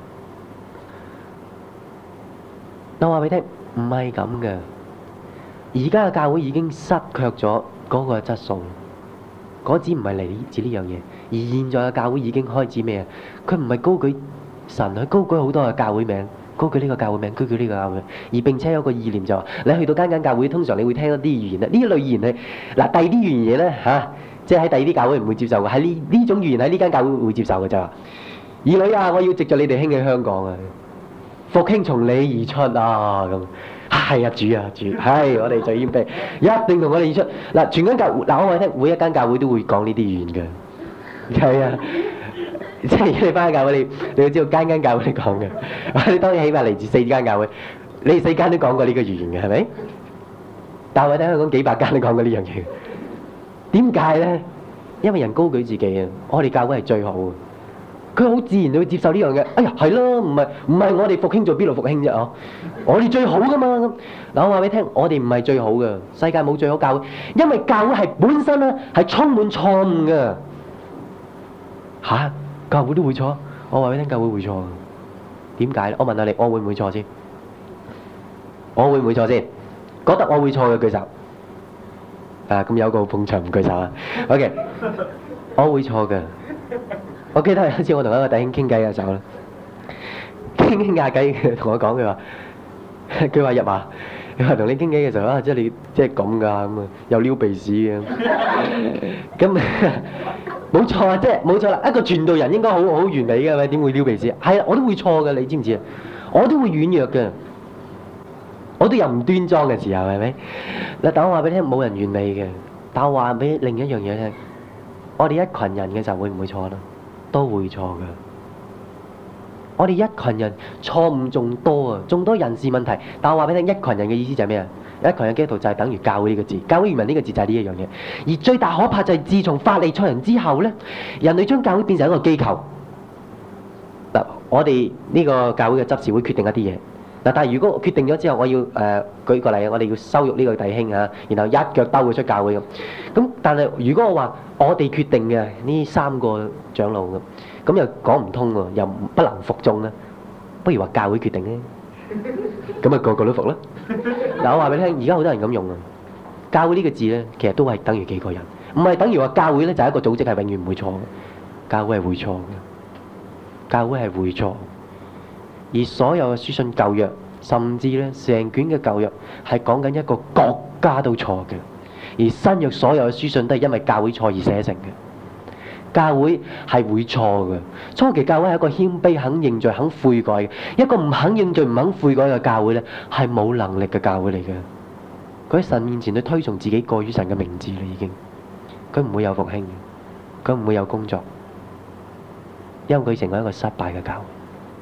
我話俾你聽，唔係咁嘅。而家嘅教會已經失卻咗嗰個質素，嗰只唔係嚟自呢樣嘢。而現在嘅教會已經開始咩啊？佢唔係高舉神，佢高舉好多嘅教會名，高舉呢個教會名，高舉呢個教會名。而並且有個意念就話，你去到間間教會，通常你會聽一啲語言咧。呢類語言係嗱，第二啲語言咧嚇，即係喺第二啲教會唔會接受嘅，喺呢種語言喺呢間教會會接受嘅就話：兒女啊，我要藉著你哋興起香港啊！復興從你而出啊！咁係啊，主，係我哋最謙卑，一定同我哋而出。嗱，全間教嗱，我話你聽，每一間教會都會講呢啲語言嘅，係啊，即係你翻去教會，你要知道間間教會都講嘅。你當然起碼嚟自4間教會，你4間都講過呢個語言嘅，係咪？但係我睇香港幾百間都講過呢樣嘢。點解咧？因為人高舉自己啊！我哋教會係最好嘅。佢好自然就會接受呢樣嘢。哎呀，係咯，唔係我哋復興做邊度復興啫？我哋最好噶嘛。嗱，我話俾你聽，我哋唔係最好嘅，世界冇最好教會，因為教會係本身咧係充滿錯誤嘅。嚇，教會都會錯？我話俾你聽，教會會錯嘅。點解咧？我問下你，我會唔會錯先？我會唔會錯先？覺得我會錯嘅舉手。咁有個捧場唔舉手啊。OK， 我會錯嘅。我記得有一次我同一個弟兄傾偈嘅時候咧，傾下偈，佢同我講，佢話入啊，佢話同你傾偈嘅時候啊，即係你即係咁㗎咁啊，又撩鼻屎嘅，咁冇錯啊，即係冇錯啦，一個傳道人應該好完美嘅，咪點會撩鼻屎？係啊，我都會錯嘅，你知唔知啊？我都會軟弱嘅，我都有唔端莊嘅時候，係咪？嗱，但我話俾你聽，冇人完美嘅，但我話俾另一樣嘢聽，我哋一群人嘅時候會唔會錯咧？都會錯嘅。我哋一群人錯誤仲多啊，仲多人事問題。但我話俾你聽，一群人嘅意思就係咩啊？一群人基督徒就係等於教會呢個字，教會原文呢個字就係呢一樣嘢。而最大可怕就係自從法利賽人之後咧，人類將教會變成一個機構。嗱，我哋呢個教會嘅執事會決定一啲嘢。嗱，但係如果決定咗之後，我要舉個例啊，我哋要羞辱呢個弟兄啊，然後一腳兜佢出教會咁。咁但係如果我話我哋決定嘅呢3個長老咁又講唔通喎，又不能服眾咧，不如話教會決定咧，咁啊個個都服啦。嗱，我話俾你聽，而家好多人咁用啊，教會呢個字咧，其實都係等於幾個人，唔係等於話教會咧就係一個組織係永遠唔會錯嘅，教會係會錯嘅，教會係會錯。而所有嘅書信舊約，甚至咧成卷嘅舊約係講緊一個國家都錯嘅，而新約所有嘅書信都係因為教會錯而寫成嘅。教會係會錯嘅，初期教會係一個謙卑、肯認罪、肯悔改嘅，一個唔肯認罪、唔肯悔改嘅教會咧，係冇能力嘅教會嚟嘅。佢喺神面前都推崇自己過於神嘅名字啦，已經。佢唔會有復興，佢唔會有工作，因為佢成為一個失敗嘅教會。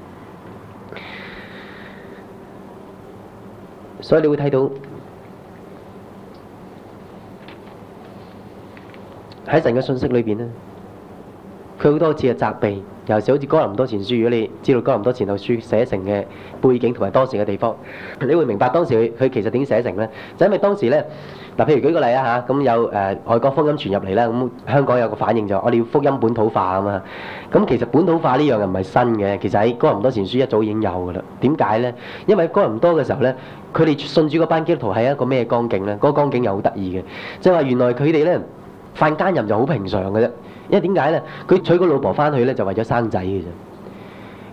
所以你會睇到喺神嘅信息裏邊咧，佢好多次嘅責備，尤其好似哥林多前書。如果你知道哥林多前後書寫成嘅背景同埋當時嘅地方，你會明白當時佢其實點寫成咧？就因為當時咧，嗱，譬如舉個例啊嚇，咁有外國福音傳入嚟啦，咁香港有個反應就我哋要福音本土化啊嘛。咁其實本土化呢樣又唔係新嘅，其實喺哥林多前書一早已經有㗎啦。點解咧？因為喺哥林多嘅時候咧，佢哋信主嗰班基督徒係一個咩光景咧？嗰個光景又好得意嘅，即係話原來佢哋咧犯奸淫就好平常嘅啫。因為點解咧？佢娶個老婆翻去咧就為咗生仔嘅啫。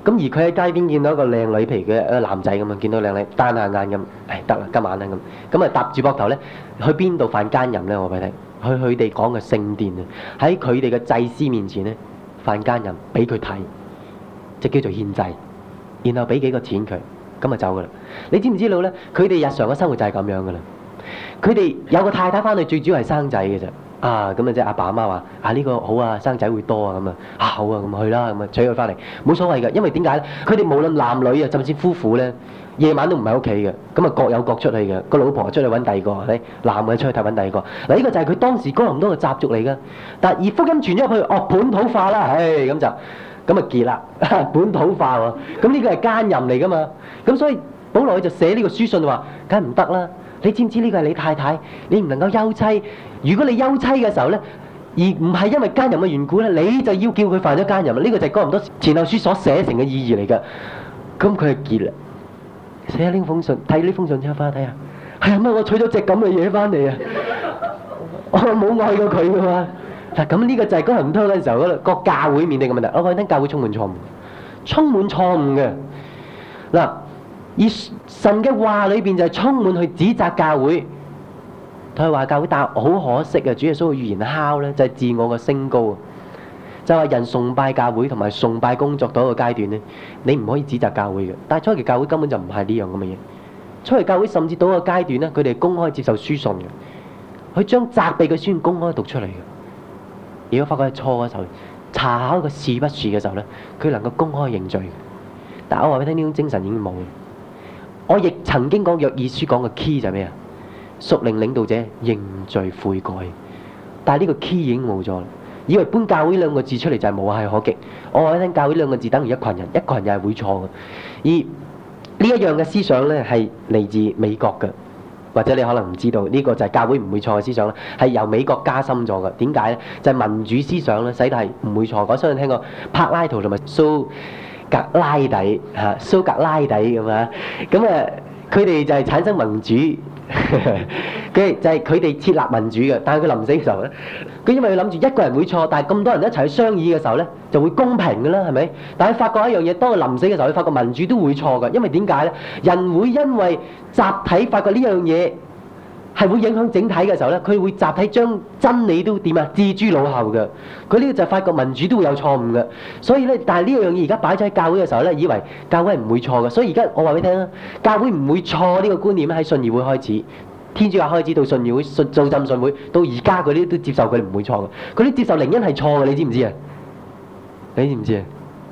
咁而佢喺街邊見到一個靚女，譬如佢一個男仔咁啊，見到靚女單下眼咁，得啦，今晚啦咁，咁啊搭住膊頭咧，去邊度犯奸淫咧？我俾你聽，去佢哋講嘅聖殿啊，喺佢哋嘅祭司面前咧犯奸淫，俾佢睇，即叫做獻祭，然後俾幾個錢佢，咁就走噶啦。你知唔知道咧？佢哋日常嘅生活就係咁樣噶啦。佢哋有個太太翻去，最主要係生仔嘅啫。啊，咁啊即係阿爸阿媽話呢個好啊，生仔會多啊咁啊，好啊咁去啦，咁啊娶佢翻嚟冇所謂嘅，因為點解咧？佢哋無論男女啊，甚至夫婦咧，夜晚都唔喺屋企嘅，咁啊各有各出去嘅，個老婆出去揾第二個，係咪？男嘅出去睇揾第二個。嗱，呢個就係佢當時哥林多嘅習俗嚟噶。但係而福音傳咗去，本土化啦，咁就咁啊結啦，本土化喎。咁呢個係奸淫嚟噶嘛？咁所以保羅佢就寫呢個書信話，梗係唔得啦。你知唔知呢個係你太太？你唔能夠休妻。如果你休妻嘅時候咧，而唔係因為奸淫嘅緣故咧，你就要叫佢犯咗奸淫啦。呢個就係哥林多前後書所寫成嘅意義嚟㗎。咁佢係結啦。寫下呢封信，睇呢封信之後翻去睇下。係啊，乜我娶咗隻咁嘅嘢翻嚟啊？我冇愛過佢㗎嘛。嗱，咁呢個就係哥林多嗰陣時候嗰個教會面對嘅問題。我講緊教會充滿錯誤，充滿錯誤嘅。嗱，而神嘅話裏邊就係充滿去指責教會。佢話教會，但係好可惜啊！主耶穌嘅預言敲咧，就係自我嘅升高啊！就係人崇拜教會同埋崇拜工作到一個階段咧，你唔可以指責教會嘅。但係初期教會根本就唔係呢樣咁嘅嘢。初期教會甚至到一個階段咧，佢哋公開接受書信嘅，佢將責備嘅書信公開讀出嚟嘅。如果發覺係錯嘅時候，查考個是不是嘅時候咧，佢能夠公開認罪。但係我話俾你聽，呢種精神已經冇。我亦曾經講約珥書講嘅 key 就係咩啊？屬靈領導者認罪悔改，但係呢個 key 已經冇咗啦。以為搬教會兩個字出嚟就係無懈可擊。我話你聽，教會兩個字等於一群人，一群人係會錯嘅。而呢一樣嘅思想咧係嚟自美國嘅，或者你可能唔知道，呢個就係教會唔會錯嘅思想咧，係由美國加深咗嘅。點解咧？就係民主思想咧，使到係唔會錯。我相信聽過柏拉圖同埋蘇格拉底蘇格拉底咁啊，咁啊，佢哋就係產生民主。佢就係佢哋設立民主嘅，但係佢臨死嘅時候咧，佢因為佢諗住一個人會錯，但係咁多人一齊去商議嘅時候咧，就會公平嘅啦，係咪？但係發覺一樣嘢，當佢臨死嘅時候，佢發覺民主都會錯嘅，因為點解咧？人會因為集體發覺呢樣嘢係會影響整體嘅時候咧，佢會集體將真理都點啊置諸腦後嘅。佢呢個就係發覺民主都會有錯誤嘅，所以咧，但係呢樣嘢而家擺咗喺教會嘅時候咧，以為教會係唔會錯嘅，所以而家我話俾你聽啦，教會唔會錯呢個觀念喺信義會開始，天主教開始到信義會、做浸信會，到而家嗰啲都接受佢哋唔會錯嘅，佢啲接受靈恩係錯嘅，你知唔知啊？你知唔知啊？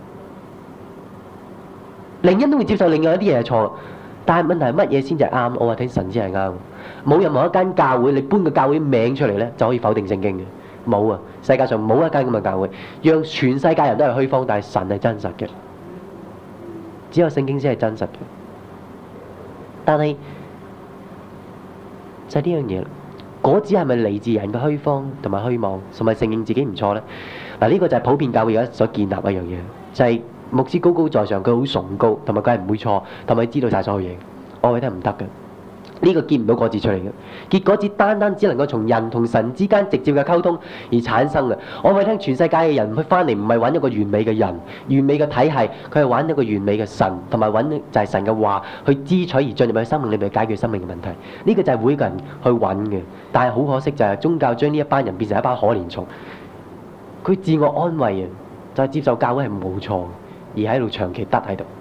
靈恩都會接受另外一啲嘢係錯，但係問題係乜嘢先至係啱？我話聽神先係啱，冇任何一間教會你搬個教會名出嚟咧就可以否定聖經嘅。冇啊！世界上冇一間咁嘅教會，讓全世界人都係虛謊，但係神係真實嘅。只有聖經先係真實嘅。但係就係呢樣嘢啦，果子係咪嚟自人嘅虛謊同埋虛妄，同埋承認自己唔錯咧？嗱，呢個就係普遍教會而家所建立一樣嘢，就係牧師高高在上，佢好崇高，同埋佢係唔會錯，同埋知道晒所有嘢。我覺得唔得嘅。呢個結唔到果子出嚟嘅，結果子單單只能夠從人同神之間直接嘅溝通而產生嘅。我話你聽，全世界嘅人去翻嚟唔係揾一個完美嘅人、完美嘅體系，佢係揾一個完美嘅神，同埋揾就係神嘅話去支取而進入去生命裏面解決生命嘅問題。呢個就係每個人去揾嘅，但係好可惜就係宗教將呢一班人變成一班可憐蟲，佢自我安慰啊，就係接受教會係冇錯，而喺度長期得喺度。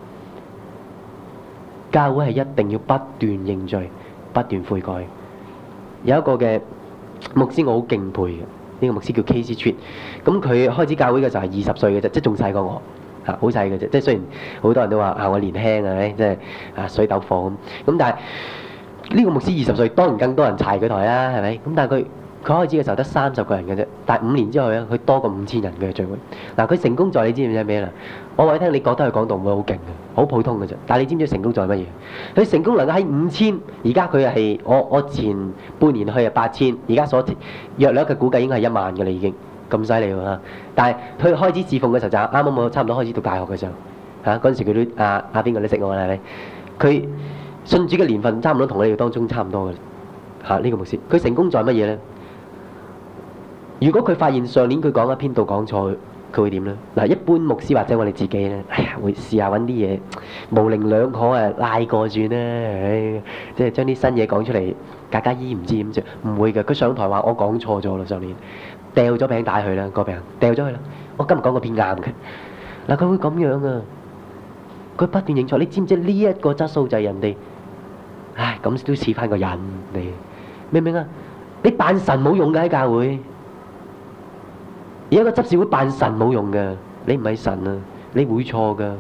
教會係一定要不斷認罪、不斷悔改。有一個嘅牧師我好敬佩嘅，呢個牧師叫 K.C. Tripp。咁佢開始教會嘅時候係20歲嘅啫，即係仲細過我嚇，好細嘅啫。即係雖然好多人都話我年輕啊，即係水斗貨咁，但係呢個牧師20歲，當然更多人柴佢台啦，係咪？咁但係佢開始嘅時候得30個人嘅啫，但係5年之後咧，佢多過5000人嘅聚會。嗱，佢成功在你知唔知咩啦？我話你聽，你覺得佢講道唔會好勁嘅，好普通嘅啫。但係你知唔知成功在乜嘢？佢成功能夠喺5000，而家佢係我前半年去係8000，而家所約略嘅估計應該係1萬嘅啦，已經咁犀利喎。但係佢開始侍奉嘅時候就啱啱我差唔多開始讀大學嘅時候嗰陣時佢都邊個都識我啦，係咪？佢信主嘅年份差唔多同你哋當中差唔多嘅呢個牧師。佢成功在乜嘢咧？如果佢發現上年佢講一篇道講錯， 佢會點咧？嗱，一般牧師或者我哋自己咧，哎呀，會試下揾啲嘢模棱兩可啊，拉過轉啦，唉，即係將啲新嘢講出嚟，家家姨唔知點做，唔會嘅。佢上台話我講錯咗啦，上年掉咗餅帶佢啦，個餅掉咗佢啦。我今日講個片啱嘅，嗱，佢會咁樣啊，佢不斷認錯。你知唔知呢一個質素就係人哋？唉，咁都似翻個人嚟，明唔明啊？你扮神冇用嘅喺教會。而一個執事會扮神冇用嘅，你唔係神啊，你會錯噶。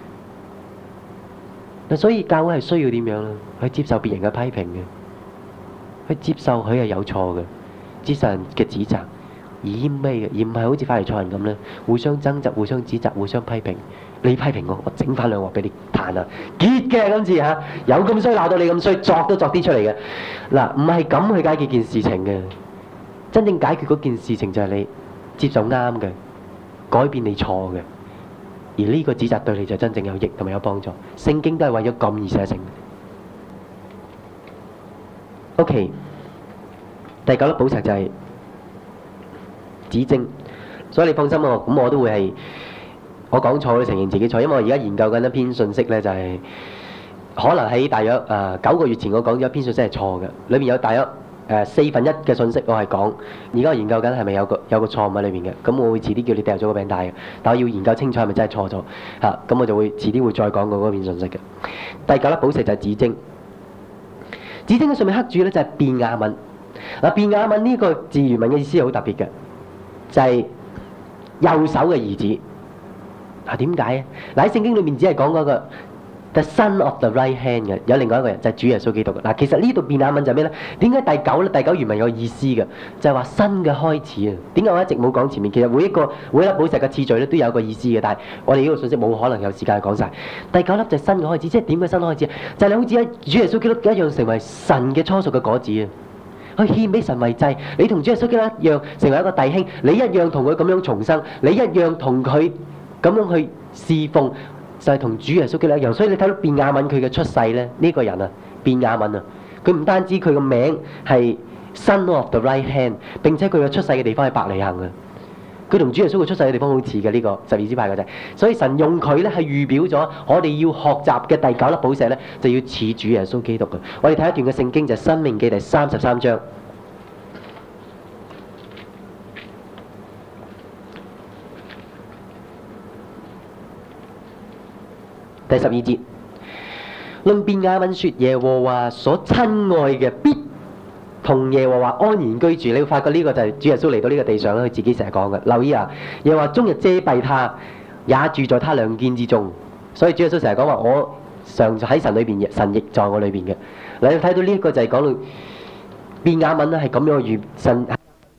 嗱，所以教會係需要點樣咧？去接受別人嘅批評嘅，去接受佢係有錯嘅，接受人嘅指責，而謙卑嘅，而唔係好似法利賽人咁咧，互相爭執、互相指責、互相批評。你批評我，我整翻兩鑊俾你彈啊！結嘅今次嚇，有咁衰鬧到你咁衰，作都作啲出嚟嘅。嗱，唔係咁去解決件事情嘅，真正解決嗰件事情就係你接受啱嘅，改變你錯嘅，而呢個指責對你就真正有益同埋有幫助。聖經都係為咗咁而寫成。OK， 第9粒寶石就係指證，所以你放心喎，咁我都會係我講錯，我承認自己錯，因為我而家研究緊一篇信息咧，就係可能喺大約9個月前我講咗一篇信息係錯嘅，裏面有大約4分1嘅信息我係講，而家我研究緊係咪有個錯誤喺裏面嘅，咁我會遲啲叫你掉咗個餅帶嘅，但我要研究清楚係咪真係錯咗嚇，咁我就會遲啲會再講過嗰篇信息嘅。第9粒寶石就係指證，指證嘅上面刻住咧就係便雅憫。嗱，便雅憫呢個字原文嘅意思係好特別嘅，就係右手嘅兒子。嗱，點解啊？嗱，喺聖經裏面只係講嗰個 The Son of the Right Hand 嘅，有另外一個人就係主耶穌基督嘅。嗱，其實呢度便雅憫就係咩咧？點解第9咧？第9原文有意思嘅，就係話新嘅開始啊！點解我一直冇講前面？其實每一粒寶石嘅次序咧都有個意思嘅，但係我哋呢個信息冇可能有時間去講晒。第9粒就係新嘅開始，即係點嘅新開始？就係你好似喺主耶穌基督一樣成為神嘅初熟嘅果子啊！去獻俾神為祭，你同主耶穌基督一樣成為一個弟兄，你一樣同佢咁樣重生，你一樣同佢咁樣去侍奉，就係同主耶穌基督一樣。所以你睇到便雅憫佢嘅出世咧，呢個人啊，便雅憫啊，佢唔單止佢個名係 Son of the Right Hand， 並且佢嘅出世嘅地方係伯利恆啊。佢同主耶穌嘅出世嘅地方好似嘅，呢個12支派嘅啫。所以神用佢咧係預表咗我哋要學習嘅第9粒寶石咧，就要似主耶穌基督嘅。我哋睇一段嘅聖經就係《申命記》第33章第12節，論便雅憫說：耶和華所親愛嘅必同耶和華安然居住。你會發覺呢個就係主耶穌嚟到呢個地上咧，佢自己成日講嘅。留意啊，耶和華終日遮蔽他，也住在他兩肩之中。所以主耶穌成日講話：我常喺神裏邊，神亦在我裏邊嘅。你睇到呢一個就係講到便雅憫咧，係咁樣預神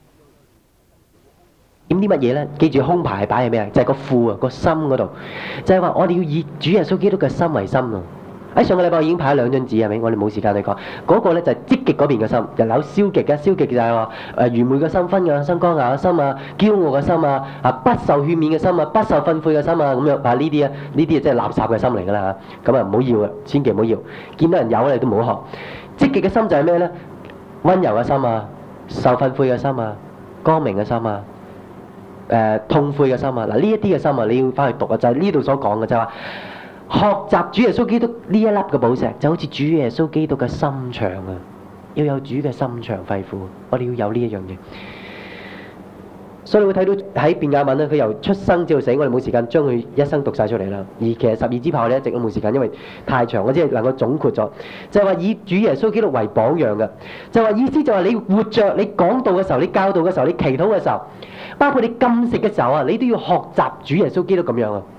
點啲乜嘢咧？記住胸牌係擺喺咩啊？就係個庫啊，個心嗰度。就係話我哋要以主耶穌基督嘅心為心啊！喺上個禮拜我已經派咗2張紙，係咪？我哋冇時間去講。嗰個咧就係積極嗰邊嘅心，又有消極嘅。消極就係話愚昧嘅心、昏暗嘅心、剛硬嘅心啊、驕傲嘅心啊、不受勸勉嘅心啊、不受訓誨嘅心啊，咁樣啊呢啲啊，呢啲啊即係垃圾嘅心嚟㗎啦嚇。咁啊唔好要啊，千祈唔好要。見到人有你都唔好學。積極嘅心就係咩咧？温柔嘅心啊、受訓誨嘅心啊、光明嘅心啊。痛悔嘅心啊！嗱，呢一啲嘅心啊，你要翻去讀啊，就係呢度所講嘅，就係話學習主耶穌基督呢一粒嘅寶石，就好似主耶穌基督嘅心腸啊，要有主嘅心腸肺腑，我哋要有呢一樣嘢。所以你會睇到喺便雅憫咧，佢由出生至到死，我哋冇時間將佢一生讀晒出嚟啦。而其實12支派我哋一直都冇時間，因為太長，我只係能夠總括咗，就係話以主耶穌基督為榜樣嘅，就係話意思就係你活着，你講道嘅時候，你教導嘅時候，你祈禱嘅時候，包括你禁食嘅時候啊，你都要學習主耶穌基督咁樣啊。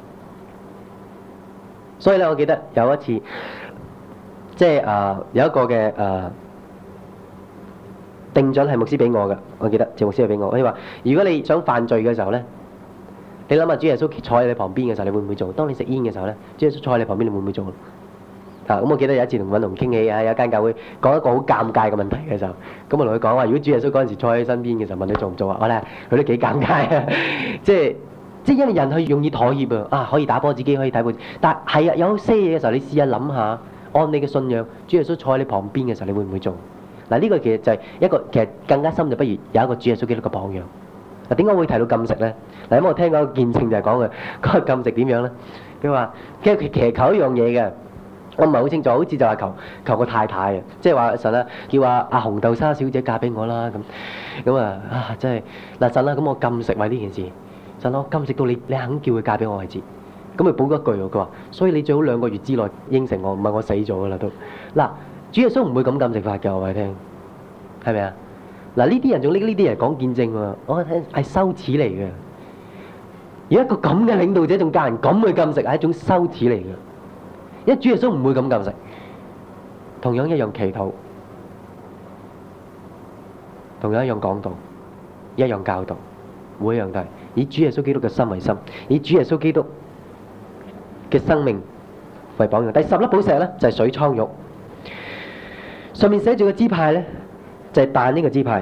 所以咧，我記得有一次，即係有一個嘅定準係牧師俾我嘅，我記得謝牧師係俾我。佢話：如果你想犯罪嘅時候咧，你諗下主耶穌坐喺你旁邊嘅時候，你會唔會做？當你食煙嘅時候咧，主耶穌坐喺你旁邊，你會唔會做？咁我記得有一次同允龍傾起啊，有一間教會講一個好尷尬嘅問題嘅時候，咁我同佢講話：如果主耶穌嗰陣時坐喺身邊嘅時候，問你做唔做啊？我咧佢都幾尷尬啊！即係因為人係容易妥協啊，可以打波自己，可以睇報紙，但係有些嘢嘅時候，你試下諗下，按你嘅信仰，主耶穌坐喺你旁邊嘅時候，你會唔會做？嗱，呢個其實就係一個其實更加深，就不如有一個主耶穌基督嘅榜樣。 嗱，點解會提到禁食咧？嗱，因為我聽過個見證就係講嘅嗰個禁食點樣咧？佢話，其實佢祈求一樣嘢嘅，我唔係好清楚，好似就係求個太太啊，即係話神啊，叫阿紅豆沙小姐嫁俾我啦咁啊真係嗱神啦，咁我禁食為呢件事，神我禁食到你肯叫佢嫁俾我為止。咁佢補一句喎，佢話：所以你最好2個月之內應承我，唔係我死咗噶啦都。嗱，主耶穌唔會咁禁食法嘅，我話你聽，係咪啊？嗱，呢啲人仲拎呢啲人講見證喎，我聽係羞恥嚟嘅。而一個咁嘅領導者仲教人咁去禁食係一種羞恥嚟嘅，因為主耶穌唔會咁禁食。同樣一樣祈禱，同樣一樣講道，一樣教導，每一樣都係以主耶穌基督嘅心為心，以主耶穌基督嘅生命為榜樣。第10粒寶石咧就係水蒼玉，上面寫住個支派咧就係但呢個支派。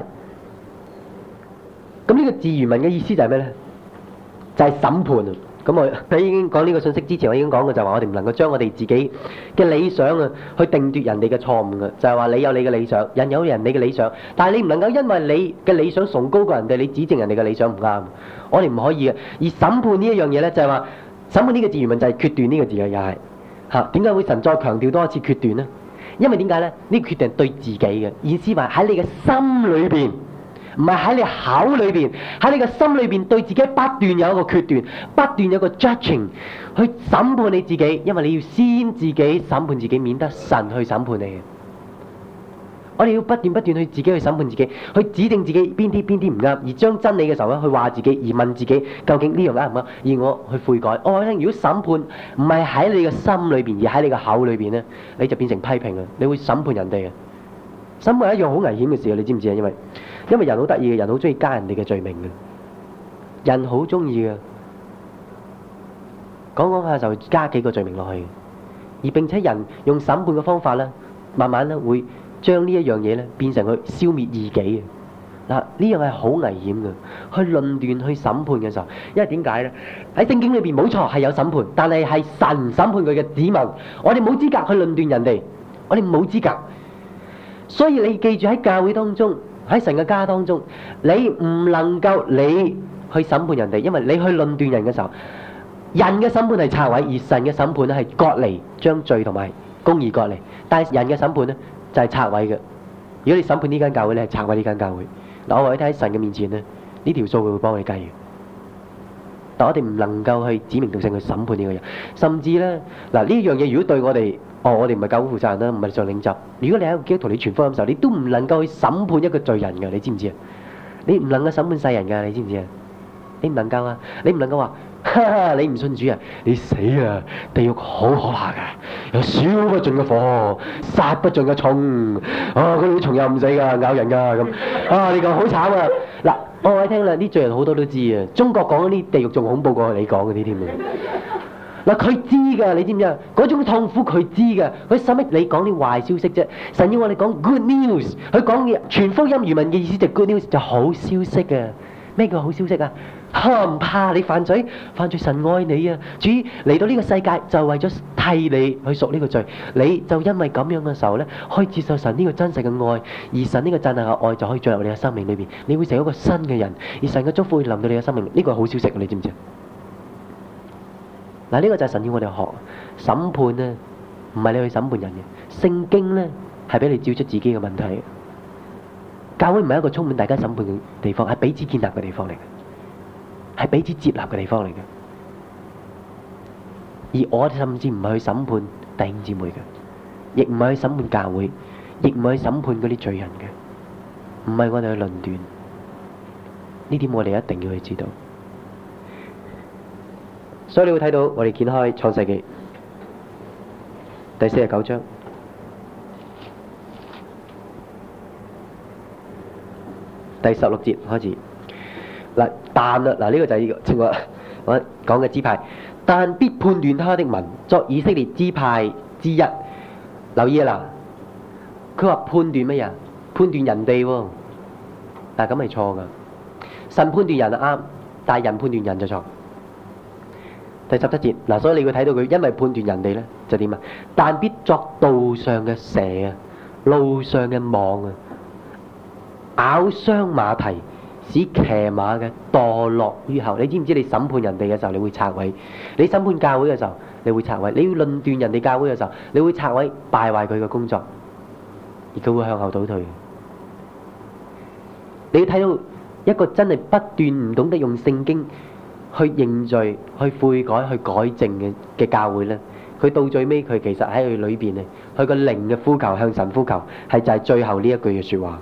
咁呢個字原文嘅意思就係咩咧？就係審判啊！咁我喺已經講呢個信息之前，我已經講過就係話我哋唔能夠將我哋自己嘅理想啊去定奪人哋嘅錯誤嘅，就係話你有你嘅理想，人有人哋嘅理想，但係你唔能夠因為你嘅理想崇高過人哋，你指正人哋嘅理想唔啱。我哋唔可以嘅。而審判呢一樣嘢咧，就係話審判呢個字原文就係決斷呢個字嘅，又係嚇。點解會神再強調多一次決斷呢？因為點解咧？呢個決定係對自己嘅意思，話喺你嘅心裏邊。唔係喺你口裏邊，喺你嘅心裏邊對自己不斷有一個決斷，不斷有個 judging 去審判你自己，因為你要先自己審判自己，免得神去審判你。我哋要不斷去自己去審判自己，去指定自己邊啲唔啱，而將真理嘅時候咧去話自己，而問自己究竟呢樣啱唔啱，而我去悔改。我聽，如果審判唔係喺你嘅心裏邊，而喺你嘅口裏邊咧，你就變成批評啊！你會審判人哋嘅。審判係一樣好危險嘅事啊！你知唔知啊？因為人好得意嘅，人好中意加人哋嘅罪名嘅，人好中意嘅，講下就加幾個罪名落去，而並且人用審判嘅方法咧，慢慢咧會將呢一樣嘢咧變成去消滅異己嘅。嗱，呢樣係好危險嘅，去論斷去審判嘅時候，因為點解咧？喺聖經裏邊冇錯係有審判，但係係神審判佢嘅子民，我哋冇資格去論斷人哋，我哋冇資格。所以你記住喺教會當中，喺神嘅家當中，你唔能夠你去審判人哋，因為你去論斷人嘅時候，人嘅審判係拆毀，而神嘅審判咧係割離，將罪同埋公義割離。但係人嘅審判咧就係拆毀嘅。如果你審判呢間教會，你係拆毀呢間教會。嗱，我話你睇喺神嘅面前咧，呢條數佢會幫你計嘅。但我哋唔能夠去指名道姓去審判呢個人，甚至咧嗱呢樣嘢，如果對我哋，我哋唔係教會負責人啦，唔係做領袖。如果你喺一個基督徒你傳福音嘅時候，你都唔能夠去審判一個罪人嘅，你知唔知啊？你唔能夠審判世人㗎，你知唔知啊？你唔能夠啊！你唔能夠話，哈哈，你唔信主啊？你死啊！地獄好可怕㗎，有燒不盡嘅火，殺不盡嘅蟲，嗰啲蟲又唔死㗎，咬人㗎咁。你講好慘啊！嗱，我話你聽啦，啲罪人好多都知啊。中國講嗰啲地獄仲恐怖過你講嗰啲添啊！嗱，佢知㗎，你知唔知啊？嗰種痛苦佢知㗎，佢使乜你講啲壞消息啫？神要我哋講 good news，佢講嘅全福音原文嘅意思就 good news 就好消息啊！咩叫好消息啊？唔怕你犯罪，神愛你啊！主嚟到呢個世界就為咗替你去贖呢個罪，你就因為咁樣嘅時候咧，可以接受神呢個真實嘅愛，而神呢個真實嘅愛就可以進入你嘅生命裏邊，你會成為一個新嘅人，而神嘅祝福會臨到你嘅生命，呢個係好消息，你知唔知啊？嗱，呢個就係神要我哋學審判咧，唔係你去審判人嘅。聖經咧係俾你照出自己嘅問題。教會唔係一個充滿大家審判嘅地方，係彼此建立嘅地方嚟嘅，係彼此接納嘅地方嚟嘅。而我哋甚至唔係去審判弟兄姊妹嘅，亦唔係去審判教會，亦唔係去審判嗰啲罪人嘅，唔係我哋去論斷。呢點我哋一定要去知道。所以你會睇到我哋掀開創世記第49章第16節開始。嗱，但啦，嗱呢個就係正話我講嘅支派，但必判斷他的民作以色列支派之一。留意啊嗱，佢話判斷乜嘢？判斷人哋喎，但係咁係錯噶。神判斷人係啱，但係人判斷人就錯。第17節嗱，所以你會睇到佢因為判斷人哋咧就點啊？但必作道上嘅蛇啊，路上嘅網啊，咬傷馬蹄， 使騎馬嘅墮落於後。你知唔知你審判人哋嘅時候，你會拆毀；你審判教會嘅時候，你會拆毀；你要論斷人哋教會嘅時候，你會拆毀、敗壞佢嘅工作，而佢會向後倒退。你要睇到一個真係不斷唔懂得用聖經去認罪、去悔改、去改正嘅教會咧，佢到最尾佢其實喺佢裏邊咧，佢個靈嘅呼求向神呼求，係就係最後呢一句嘅説話。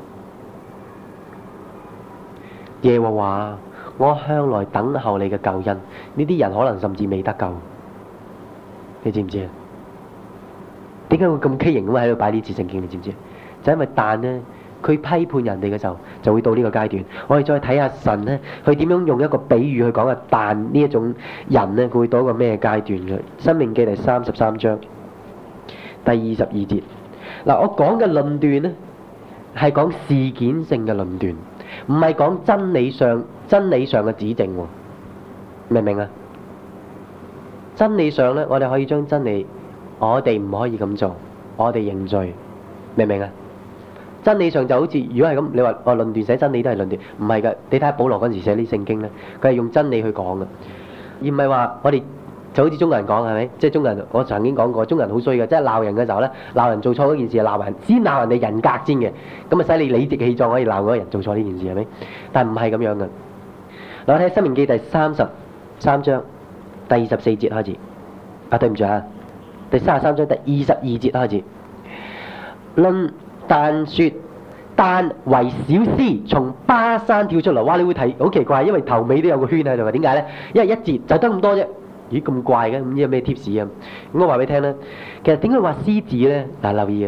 耶和華，我向來等候你嘅救恩。呢啲人可能甚至未得救，你知唔知啊？點解會咁畸形咁喺度擺呢次聖經？你知唔知？就因為但呢，佢批判人哋嘅時候，就會到呢個階段。我哋再睇下神呢，佢點樣用一個比喻去講啊？但呢一種人呢，佢會到一個咩階段嘅？申命記第33章第22節。嗱，我講嘅論斷呢，係講事件性嘅論斷。唔係講真理上嘅指正喎，明唔明啊？真理上咧，我哋可以將真理，我哋唔可以咁做，我哋認罪，明唔明啊？真理上就好似如果係咁，你話論斷寫真理都係論斷，唔係㗎。你睇下保羅嗰陣時寫啲聖經咧，佢係用真理去講嘅，而唔係話我哋。就好似中國人講係咪？即係中國人，我曾經講過，中國人好衰嘅，即係鬧人嘅時候咧，鬧人做錯嗰件事，鬧人先鬧人哋人格先嘅，咁啊使你理直氣壯可以鬧嗰個人做錯呢件事係咪？但係唔係咁樣嘅。嗱，我睇《申命記》第33章第24節開始。啊，對唔住啊，第33章第22節開始。論但說，但為小獅從巴山跳出嚟，哇！你會睇好奇怪，因為頭尾都有個圈喺度嘅，點解咧？因為一節就得咁多啫。咦，咁怪嘅，唔知有咩 tips 啊？咁我話俾你聽啦，其實點解話獅子咧？嗱，留意啊，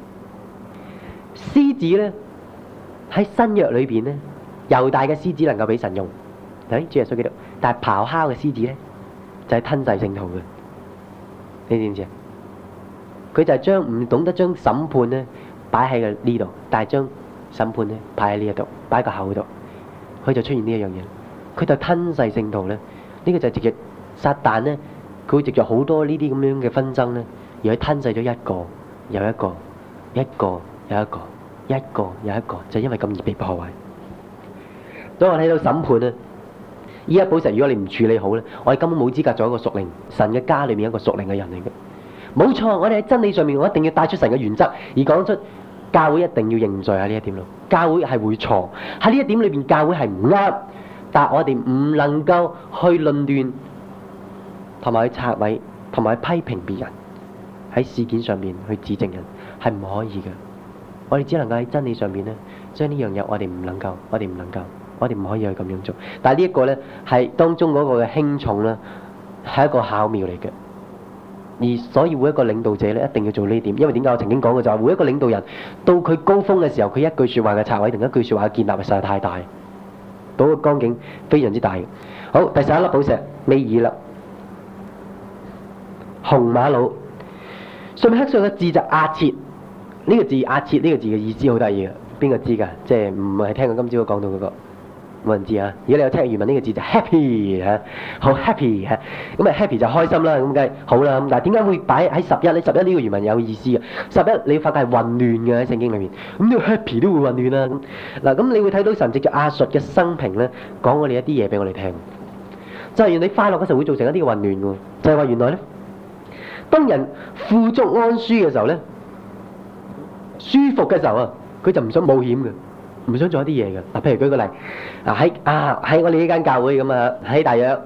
獅子咧喺新約裏邊咧，猶大嘅獅子能夠俾神用，睇主耶穌基督，但係咆哮嘅獅子咧就係吞噬聖徒嘅，你知唔知啊？佢就係將唔懂得將審判咧擺喺個呢度，但係將審判咧擺喺呢一度，擺喺個口度，佢就出現呢一樣嘢，佢就吞噬聖徒咧，呢個就係直接。撒旦咧，佢會藉著好多呢啲咁樣嘅紛爭咧，而去吞噬咗一個又一個，一個又一個，一個又一個，就因為咁而被破壞。當我睇到審判咧，依一寶石，如果你唔處理好咧，我哋根本冇資格做一個屬靈神嘅家裏面一個屬靈嘅人嚟嘅。冇錯，我哋喺真理上面，我一定要帶出神嘅原則，而講出教會一定要認罪喺呢一點咯。教會係會錯喺呢一點裏邊，教會係唔啱，但係我哋唔能夠去論斷。同埋去拆毀，同埋去批評別人，喺事件上面去指證人，係唔可以嘅。我哋只能夠喺真理上面咧，將呢樣嘢我哋唔能夠，我哋唔可以去咁樣做。但係呢一個咧，係當中嗰個嘅輕重咧，係一個巧妙嚟嘅。而所以每一個領導者咧，一定要做呢點，因為點解我曾經講過就係每一個領導人到佢高峰嘅時候，佢一句説話嘅拆毀，同一句説話嘅建立，實在太大，嗰個光景非常之大嘅。好，第11粒寶石，尾二粒。紅瑪瑙上面刻上嘅字就壓切，呢個字壓切呢個字嘅意思好得意嘅，邊個知㗎？即係唔係聽過今朝講到嗰個冇人知啊？如果你有聽原文呢個字就 happy 嚇，好 happy 嚇，咁啊 happy 就開心啦，咁梗係好啦。咁但係點解會擺喺11咧？11呢個原文有意思嘅，11你發覺係混亂嘅喺聖經裏面，咁呢個 happy 都會混亂啦。咁嗱，咁你會睇到神藉著亞述嘅生平咧，講我哋一啲嘢俾我哋聽，就係原來你快樂嘅時候會造成一啲嘅混亂喎，就係話原來咧。當人富足安舒嘅時候咧，舒服嘅時候啊，佢就唔想冒險嘅，唔想做一啲嘢嘅。嗱，譬如舉個例，喺我哋呢間教會咁啊，喺大約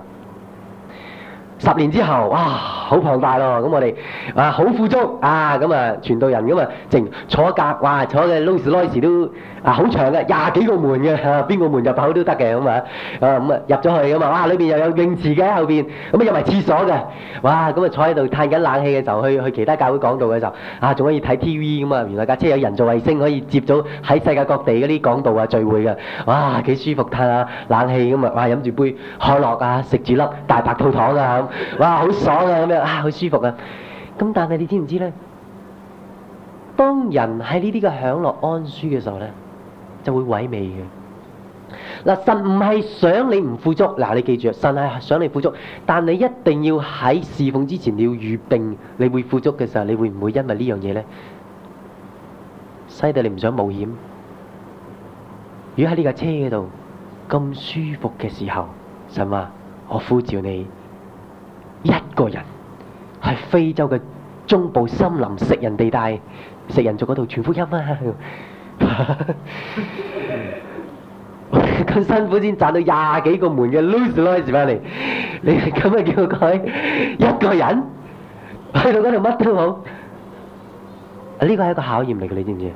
10年之後，哇，好龐大咯！咁我哋好富足啊，咁啊傳道人咁啊，淨坐一格，哇，坐嘅勞斯萊斯都好長嘅，20幾個門嘅，邊個門入口都得嘅咁啊，咁啊入咗去咁啊，哇，裏邊又有泳池嘅喺後邊，咁啊有埋廁所嘅，哇，咁啊坐喺度嘆緊冷氣嘅時候，去其他教會講道嘅時候，仲可以睇 TV 咁啊，原來架車有人造衛星可以接到喺世界各地嗰啲講道啊聚會嘅，哇，幾舒服，嘆下冷氣咁啊，哇，飲住杯可樂啊，食住粒大白兔糖啊〜哇，好爽啊！咁樣好舒服啊！咁但係你知唔知咧？當人喺呢啲嘅享樂安舒嘅時候咧，就會萎靡嘅。嗱，神唔係想你唔富足，嗱，你記住，神係想你富足，但你一定要喺侍奉之前你要預定你會富足嘅時候，你會唔會因為呢樣嘢咧，使到你唔想冒險？ 如果喺呢架車嗰度咁舒服嘅時候，神話我呼召你一個人去非洲嘅中部森林食人地帶、食人族嗰度傳福音啊！咁辛苦先賺到20幾個門嘅 Rolls-Royce 翻嚟，你咁啊叫佢一個人去到嗰度乜都冇？呢個係一個考驗嚟嘅，你知唔知？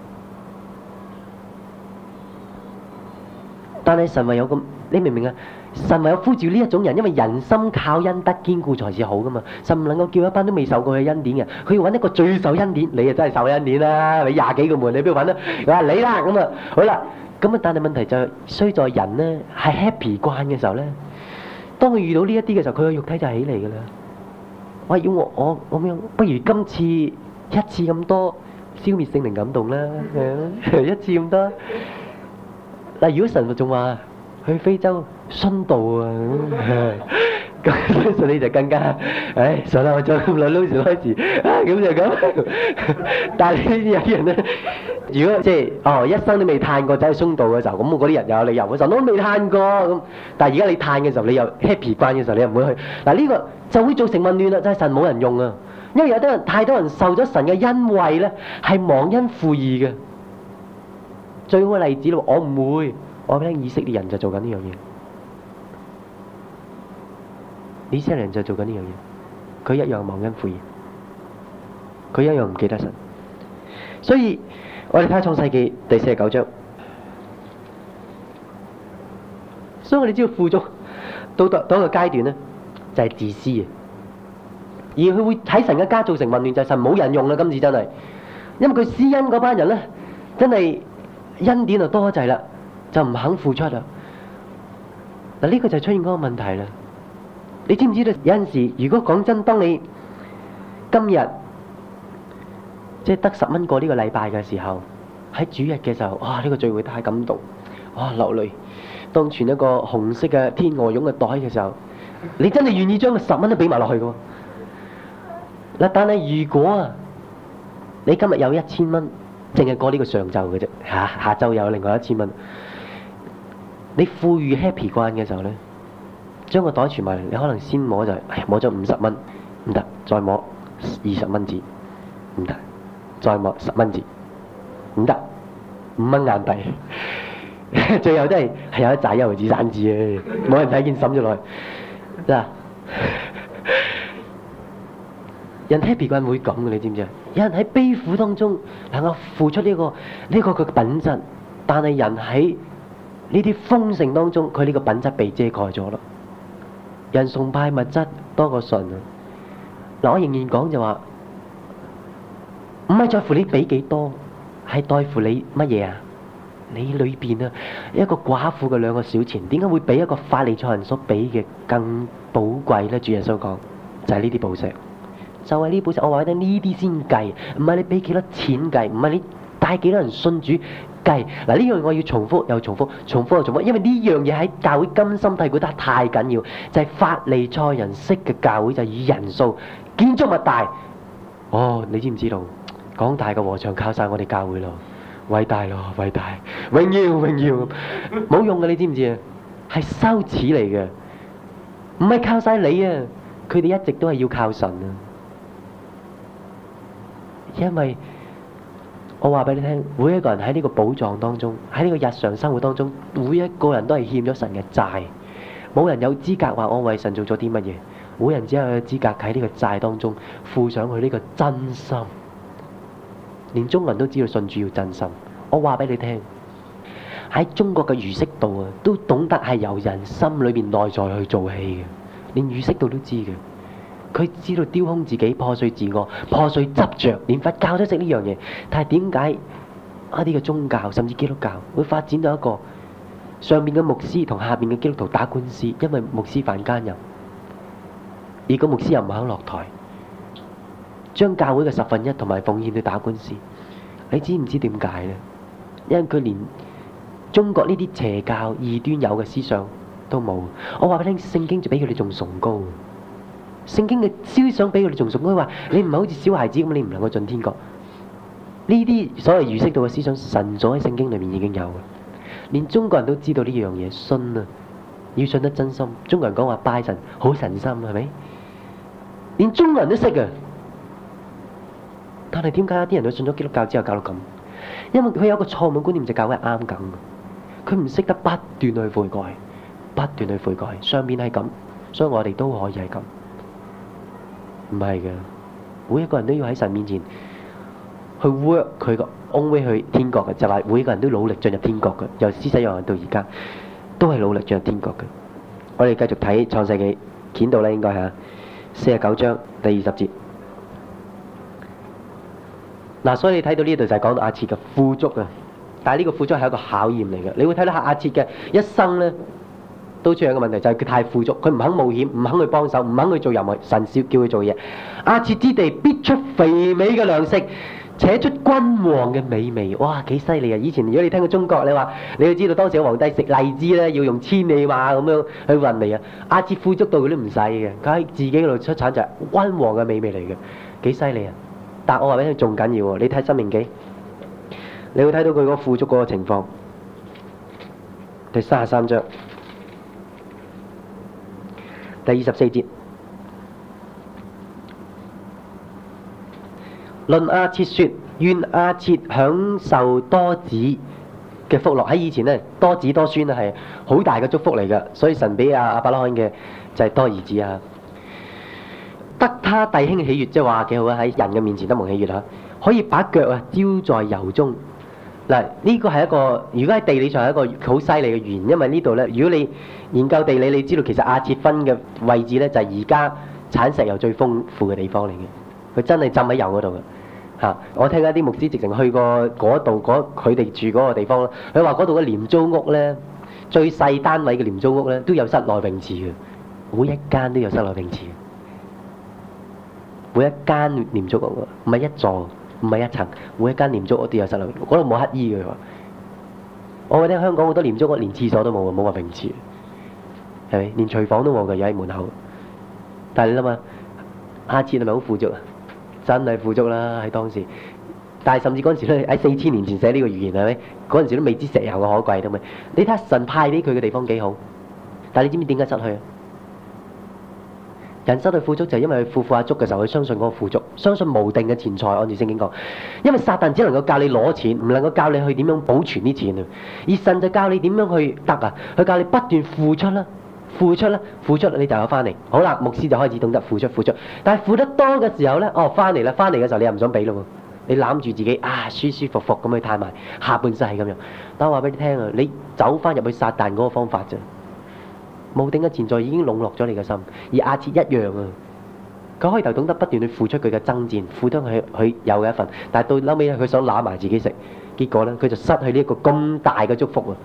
但係神話有咁，你明唔明啊？神話有呼召呢一種人，因為人心靠恩德堅固才是好噶嘛。神唔能夠叫一班都未受過嘅恩典嘅，佢要揾一個最受恩典。你啊真係受恩典啦！你20幾個門，你邊度揾啊？佢話你啦咁啊，好啦，咁啊，但係問題就係衰在人咧係 happy 慣嘅時候咧，當佢遇到呢一啲嘅時候，佢個肉體就起嚟噶啦。喂，要我咁樣，不如今次一次咁多消滅聖靈感動啦，一次咁多。嗱，如果神仲話去非洲殉道啊，咁相信你就更加，唉，算啦，我再咁耐撈住開始，咁就咁。但係呢啲有啲人咧，如果即係一生都未嘆過走去殉道嘅時候，咁嗰啲人又有理由嘅，神都未嘆過咁。但係而家你嘆嘅時候，你又 happy 慣嘅時候，你又唔會去。嗱，呢個就會造成混亂啦，就係神冇人用啊，因為有啲人太多人受咗神嘅恩惠咧，係忘恩負義嘅。最好嘅例子咯，我唔會，我聽以色列人就做緊呢樣嘢。以色列人就做緊呢樣嘢，佢一樣忘恩負義，佢一樣唔記得神。所以我哋睇下創世記第49章。所以我哋知道富足到一個階段咧，就係自私嘅，而佢會喺神嘅家造成混亂，就係神冇人用啦。今次真係，因為佢施恩嗰班人咧，真係恩典就多滯啦，就唔肯付出啦。嗱，呢個就出現嗰個問題啦。你知唔知道有陣時，如果講真，當你今日即係得10蚊過呢個禮拜嘅時候，喺主日嘅時候，哇！呢個聚會太感動，哇！流淚。當存一個紅色嘅天鵝絨嘅袋嘅時候，你真係願意將個10蚊都俾埋落去嘅喎。嗱，但係如果啊，你今日有1000蚊，淨係過呢個上晝嘅啫，下晝有另外1000蚊，你富裕 happy 慣嘅時候咧，將個袋存埋嚟，你可能先摸就係，摸咗50蚊，唔得，再摸20蚊紙，唔得，再摸10蚊紙，唔得，5蚊硬幣，最後都係有一紮1毫紙散紙嘅，冇人睇見抌咗落去。嗱，人 happy 慣會咁嘅，你知唔知啊？有人喺悲苦當中能夠付出呢個嘅品質，但係人喺呢啲豐盛當中，佢呢個品質被遮蓋咗咯。人崇拜物質多過神啊！嗱，我仍然講就話，唔係在乎你俾幾多，係在乎你乜嘢啊？你裏邊啊，一個寡婦嘅2個小錢，點解會比一個法利賽人所俾嘅更寶貴咧？主耶穌講就係呢啲寶石，就係呢啲寶石。我話俾你聽，呢啲先計，唔係你俾幾多錢計，唔係你帶幾多人信主計。嗱，呢樣我要重複又重複，重複又重複，因為呢樣嘢喺教會根深蒂固得太緊要，就係法利賽人式嘅教會就係以人數建築物大。哦，你知唔知道？廣大嘅禾場靠晒我哋教會咯。偉大咯，偉大，榮耀榮耀，冇用嘅，你知唔知啊？係羞恥嚟嘅，唔係靠晒你啊！佢哋一直都係要靠神啊！因為我話俾你聽，每一個人喺呢個寶藏當中，喺呢個日常生活當中，每一個人都係欠咗神嘅債，冇人有資格話我為神做咗啲乜嘢，每人只有資格喺呢個債當中付上去呢個真心。連中國人都知道信主要真心。我話俾你聽，喺中國嘅儒釋道啊，都懂得係由人心裏邊內在去做起嘅。連儒釋道都知嘅，佢知道丟空自己、破碎自我、破碎執着。連佛教都識呢樣嘢。但係點解一啲嘅宗教甚至基督教會發展到一個上面嘅牧師同下邊嘅基督徒打官司？因為牧師犯奸淫，而個牧師又唔肯落台，將教會嘅1/10同埋奉獻去打官司。你知唔知點解呢？因為佢連中國呢啲邪教異端有嘅思想都冇。我話俾你聽，聖經就比佢哋仲崇高。聖經嘅思想比佢哋仲崇高。佢話你唔係好似小孩子咁，你唔能夠進天國。呢啲所謂儒釋道嘅思想，神所喺聖經裏面已經有嘅。 連中國人都知道呢樣嘢，信啊，要信得真心。中國人講話拜神好神心，係咪？連中國人都識啊，但係點解啲人都信咗基督教之後搞到咁？因為佢有個錯誤觀念，就教係啱咁，佢唔識得不斷去悔改，不斷去悔改。上面係咁，所以我哋都可以係咁。唔係嘅，每一個人都要喺神面前去 work 佢個 own way 去天國嘅，就話每一個人都努力進入天國嘅，由施洗約翰到而家都係努力進入天國嘅。我哋繼續睇創世記，見到咧應該係49章第20節。嗱，所以你睇到呢度就係講到亞設嘅富足啊，但係呢個富足係一個考驗嚟嘅。你會睇到亞設嘅一生咧，都出現一個問題，就係佢太富足，佢唔肯冒險，唔肯去幫手，唔肯去做任何神少叫佢做嘢。亞設之地必出肥美嘅糧食，且出君王嘅美味。哇，幾犀利啊！以前如果你聽過中國，你話你要知道當時嘅皇帝食荔枝咧，要用千里馬咁樣去運嚟啊。亞設富足到佢都唔使嘅，佢喺自己嗰度出產就係君王嘅美味嚟嘅，幾犀利啊！但我話俾你聽，仲緊要喎！你睇《申命記》，你會睇到佢嗰個富足嗰個情況。第33章第24節，論亞設說：願亞設享受多子嘅福樂。喺以前咧，多子多孫係好大嘅祝福嚟嘅，所以神俾亞伯拉罕嘅就係多兒子啊。得他弟兄喜悅，即係話幾好啊！喺人嘅面前得蒙喜悅啊，可以把腳啊澆在油中。嗱，呢個係一個，如果喺地理上係一個好犀利嘅語言，因為呢度咧，如果你研究地理，你知道其實亞設分嘅位置咧，就係而家產石油最豐富嘅地方嚟嘅。佢真係浸喺油嗰度嘅嚇。我聽一啲牧師直情去過嗰度，佢哋住嗰個地方咯。佢話嗰度嘅廉租屋咧，最細單位嘅廉租屋咧，都有室內泳池嘅，每一間都有室內泳池。每一間廉租屋唔係一座，唔係一層，每一間廉租屋都有室內泳池。嗰度冇乞衣嘅喎。我覺得香港好多廉租屋連廁所都冇，冇話泳池，係咪？連廚房都冇嘅，有喺門口。但係你諗下，亞設係咪好富足啊？真係富足啦喺當時。但係甚至嗰陣時咧，喺4000年前寫呢個預言係咪？嗰陣時都未知石油嘅可貴都咪。你睇下神派俾佢嘅地方幾好，但係你知唔知點解失去啊？人失去富足就係因為佢富下足嘅時候，佢相信嗰個富足，相信無定嘅錢財。按住聖經講，因為撒旦只能夠教你攞錢，唔能夠教你去點樣保存啲錢啊。而神就教你點樣去得啊，佢教你不斷付出啦，付出啦，付出你就有翻嚟。好啦，牧師就開始懂得付出，付出。但係付得多嘅時候咧，哦，翻嚟啦，翻嚟嘅時候你又唔想俾咯喎，你攬住自己啊，舒舒服服咁去嘆埋下半世咁樣。但我話俾你聽啊，你走翻入去撒旦嗰個方法啫。無定嘅錢財已經籠絡咗你嘅心，而亞設一樣啊！佢開頭懂得不斷去付出佢嘅爭戰，付出佢有嘅一份，但係到後尾佢想攬埋自己食，結果咧佢就失去呢一個咁大嘅祝福啊！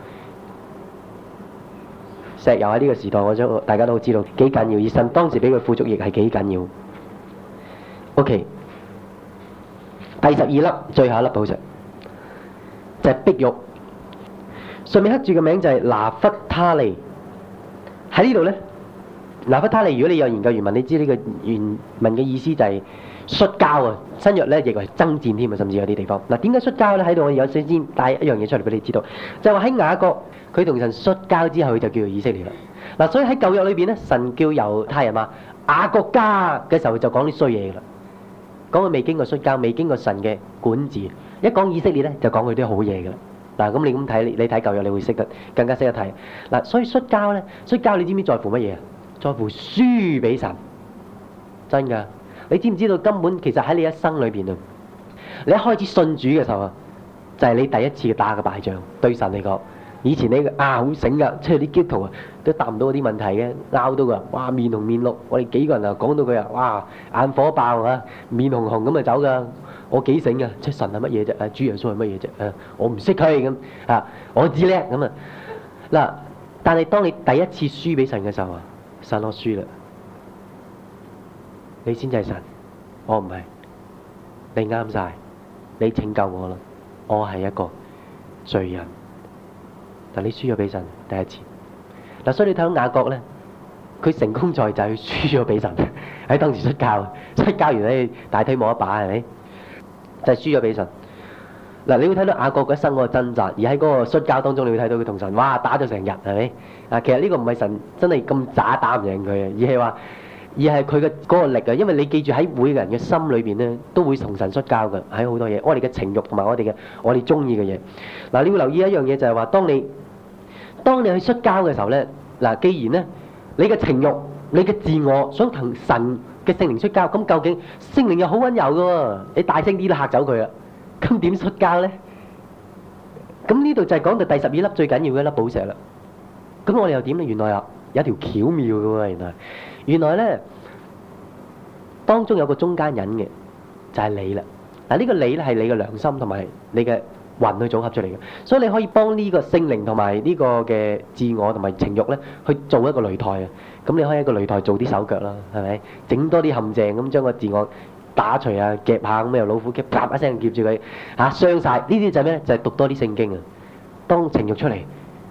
石油喺呢個時代，我想大家都知道幾緊要，而神當時俾佢富足亦係幾緊要。OK， 第12粒，最後一粒寶石就係碧玉，上面刻住嘅名就係拿弗他利。喺呢度咧，拿弗他利，如果你有研究原文，你知呢個原文嘅意思就係摔跤啊。新約咧亦係爭戰添啊，甚至有啲地方。嗱，點解摔跤咧？喺度我有先帶一樣嘢出嚟俾你知道，就係話喺雅各佢同神摔跤之後，佢就叫做以色列啦。嗱，所以喺舊約裏邊咧，神叫猶太人話雅各家嘅時候就講啲衰嘢啦，講佢未經過摔跤，未經過神嘅管治。一講以色列咧，就講佢啲好嘢噶啦。嗱，咁你咁睇，你睇舊約，你會識得更加識得睇。嗱，所以摔跤咧，摔跤你知唔知在乎乜嘢啊？在乎輸俾神，真㗎。你知唔知道根本其實喺你一生裏邊啊，你一開始信主嘅時候啊，就係你第一次打嘅敗仗。對神嚟講，以前你好醒㗎，即係啲基督徒啊都答唔到嗰啲問題嘅，拗到㗎，哇面紅面綠。我哋幾個人啊講到佢啊，哇眼火爆啊，面紅紅咁啊走㗎。我幾醒啊！即係神係乜嘢啫？主耶穌係乜嘢啫？我唔識佢咁啊！我知叻咁啊！嗱，但係當你第一次輸俾神嘅時候啊，神我輸啦，你先至係神，我唔係，你啱晒，你拯救我啦，我係一個罪人，但你輸咗俾神第一次。嗱，所以你睇到雅各咧，佢成功在就係輸咗俾神，喺當時摔跤完咧大腿冇一把係咪？就係輸咗俾神。 嗱，你會睇到雅各一生嗰個掙扎，而喺嗰個摔跤當中，你會睇到佢同神哇打咗成日，係咪？啊，其實呢個唔係神真係咁渣打唔贏佢啊，而係佢嘅嗰個力啊。因為你記住喺每個人嘅心裏邊咧，都會同神摔跤嘅，喺好多嘢，我哋嘅情慾同埋我哋中意嘅嘢。嗱，你要留意一樣嘢就係話，當你去摔跤嘅時候咧，嗱，既然咧你嘅情慾、你嘅自我想同神嘅聖靈摔跤，咁究竟聖靈又好溫柔嘅喎，你大聲啲都嚇走佢啊！咁點摔跤咧？咁呢度就係講到第12粒最緊要嘅一粒寶石啦。咁我哋又點咧？原來有條巧妙嘅喎，原來咧當中有個中間人嘅，就係你啦。嗱，呢個你咧係你嘅良心同埋你嘅魂去組合出嚟嘅，所以你可以幫呢個聖靈同埋呢個嘅自我同埋情慾咧去做一個擂台啊。咁你可以喺個擂台做啲手腳啦，係咪？整多啲陷阱咁將個自我打除啊，夾下咁又老虎夾，啪一聲夾住佢嚇傷晒。呢啲就係咩？就係讀多啲聖經啊。當情慾出嚟，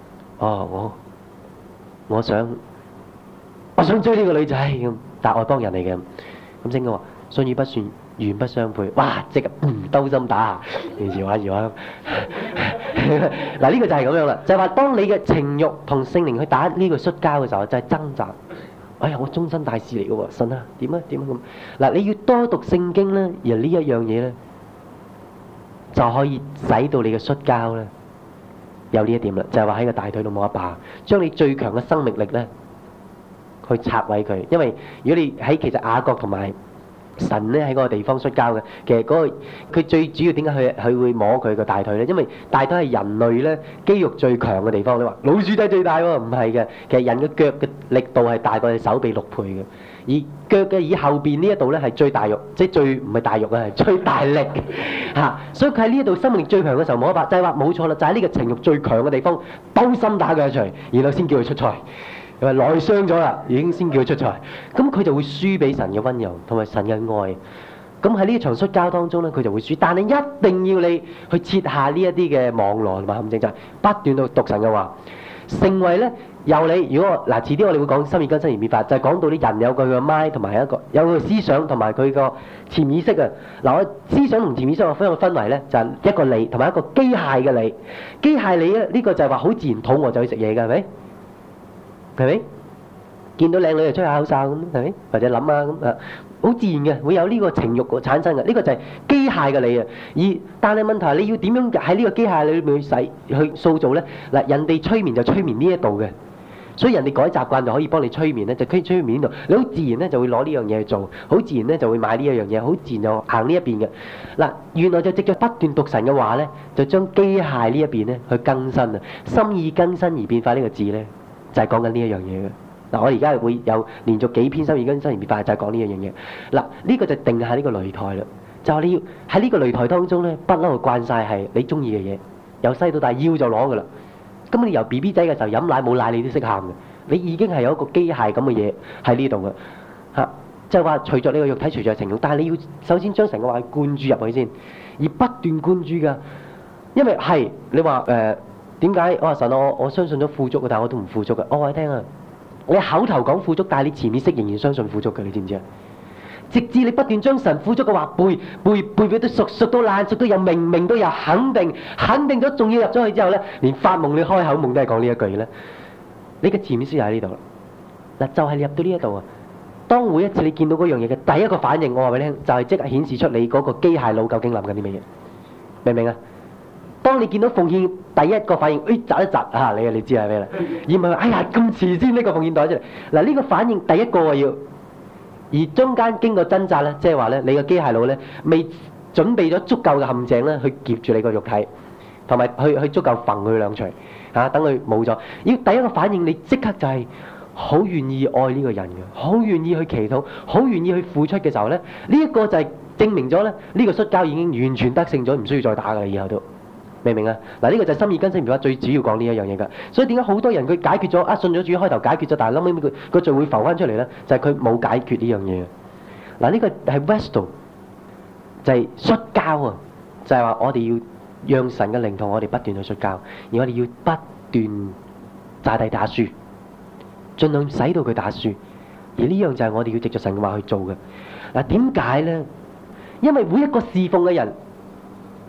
我想追呢個女仔咁，但係外邦人嚟嘅。咁聖經話信與不信原不相配，哇！即刻兜心打下，搖下。嗱，呢個就係咁樣啦，就係話當你嘅情慾同聖靈去打呢個摔跤嘅時候，就係掙扎。哎呀，我終身大事嚟嘅喎，神啊，點啊咁。嗱，你要多讀聖經咧，而呢一樣嘢咧，就可以使到你嘅摔跤咧有呢一點啦，就係話喺個大腿度摸一把，將你最強嘅生命力咧去拆毀佢。因為如果你喺其實雅各同埋神咧喺嗰個地方摔跤嘅，其實佢最主要點解佢會摸佢個大腿咧？因為大腿係人類咧肌肉最強嘅地方。你話老鼠仔最大喎，唔係嘅，其實人嘅腳嘅力度係大過你手臂6倍嘅，而腳嘅以後邊呢一度咧係最大肉，即係最唔係大肉啊，係最大力嚇。所以佢喺呢一度生命力最強嘅時候摸一把，就係話冇錯啦，就係呢個情慾最強嘅地方，兜心打佢一錘，然後先叫佢出賽。又話內傷咗啦，已經先叫佢出賽，咁佢就會輸俾神嘅溫柔同埋神嘅愛。咁喺呢一場摔跤當中咧，佢就會輸。但係一定要你去設下呢一啲嘅網羅同埋陷阱，就係不斷到讀神嘅話，成為咧由你。如果嗱遲啲我哋會講心意更新而變化，就係講到啲人有佢嘅 mind 同埋有佢嘅思想同埋佢個潛意識啊。嗱，我思想同潛意識我分為咧就係一個你同埋一個機械嘅你。機械你咧呢個就係話好自然肚餓就去食嘢㗎，係咪？係咪？見到靚女就吹下口哨咁，係咪？或者諗啊咁啊，好自然嘅，會有呢個情慾產生嘅。呢個就係機械嘅你啊。但係問題係你要點樣喺呢個機械裏面去塑造咧？嗱，人哋催眠就催眠呢一度嘅，所以人哋改習慣就可以幫你催眠咧，就可以催眠呢度。你好自然咧就會攞呢樣嘢去做，好自然咧就會買呢一樣嘢，好自然就行呢一邊嘅。嗱，原來就藉著不斷讀神嘅話咧，就將機械呢一邊咧去更新啊，心意更新而變化呢個字咧。就係講緊呢一樣嘢嘅。嗱，我而家會有連續幾篇心意更新而變化，就係講呢一樣嘢。嗱，呢個就定下呢個擂台啦。就係你要喺呢個擂台當中咧，不嬲慣晒係你中意嘅嘢，由細到大要就攞噶啦。咁你由 BB 仔嘅時候飲奶冇奶你都識喊嘅，你已經係有一個機械咁嘅嘢喺呢度嘅嚇。就係話隨著你個肉體，隨著情慾，但係你要首先將成個話灌注入去先，而不斷灌注㗎。因為係你話點解？我話神，我相信咗富足嘅，但係我都唔富足嘅。我話你聽啊，你口頭講富足，但係你潛意識仍然相信富足嘅，你知唔知啊？直至你不斷將神富足嘅話背到熟到爛，熟到又明到又肯定咗，仲要入咗去之後咧，連發夢你開口夢都係講呢一句咧。你嘅潛意識就喺呢度啦。嗱，就係你入到呢一度啊。當每一次你見到嗰樣嘢嘅第一個反應，我話俾你聽，就係即刻顯示出你嗰個機械腦究竟諗緊啲乜嘢，明唔明啊？當你見到奉獻第一個反應，窒一窒啊！你知係咩啦？而唔係話哎呀咁遲先呢個奉獻袋出嚟。嗱，呢個反應第一個要，而中間經過掙扎咧，即係話咧，你個機械腦咧未準備咗足夠嘅陷阱咧，去夾住你個肉體，同埋去足夠揈佢兩錘嚇，等佢冇咗。要第一個反應，你即刻就係好願意愛呢個人嘅，好願意去祈禱，好願意去付出嘅時候咧，呢一個就係證明咗咧，呢個摔跤已經完全得勝咗，唔需要再打㗎啦，以後都。明唔明啊？嗱，呢個就係心意更新變化最主要講呢一樣嘢㗎。所以點解好多人佢解決咗信咗主開頭解決咗，但係後尾佢個罪會浮翻出嚟咧，就係佢冇解決呢樣嘢。嗱，呢個係 Vestal，就係摔跤啊！就係話我哋要讓神嘅靈同我哋不斷去摔跤，而我哋要不斷炸地打輸，盡量使到佢打輸。而呢樣就係我哋要藉著神嘅話去做嘅。嗱，點解咧？因為每一個侍奉嘅人，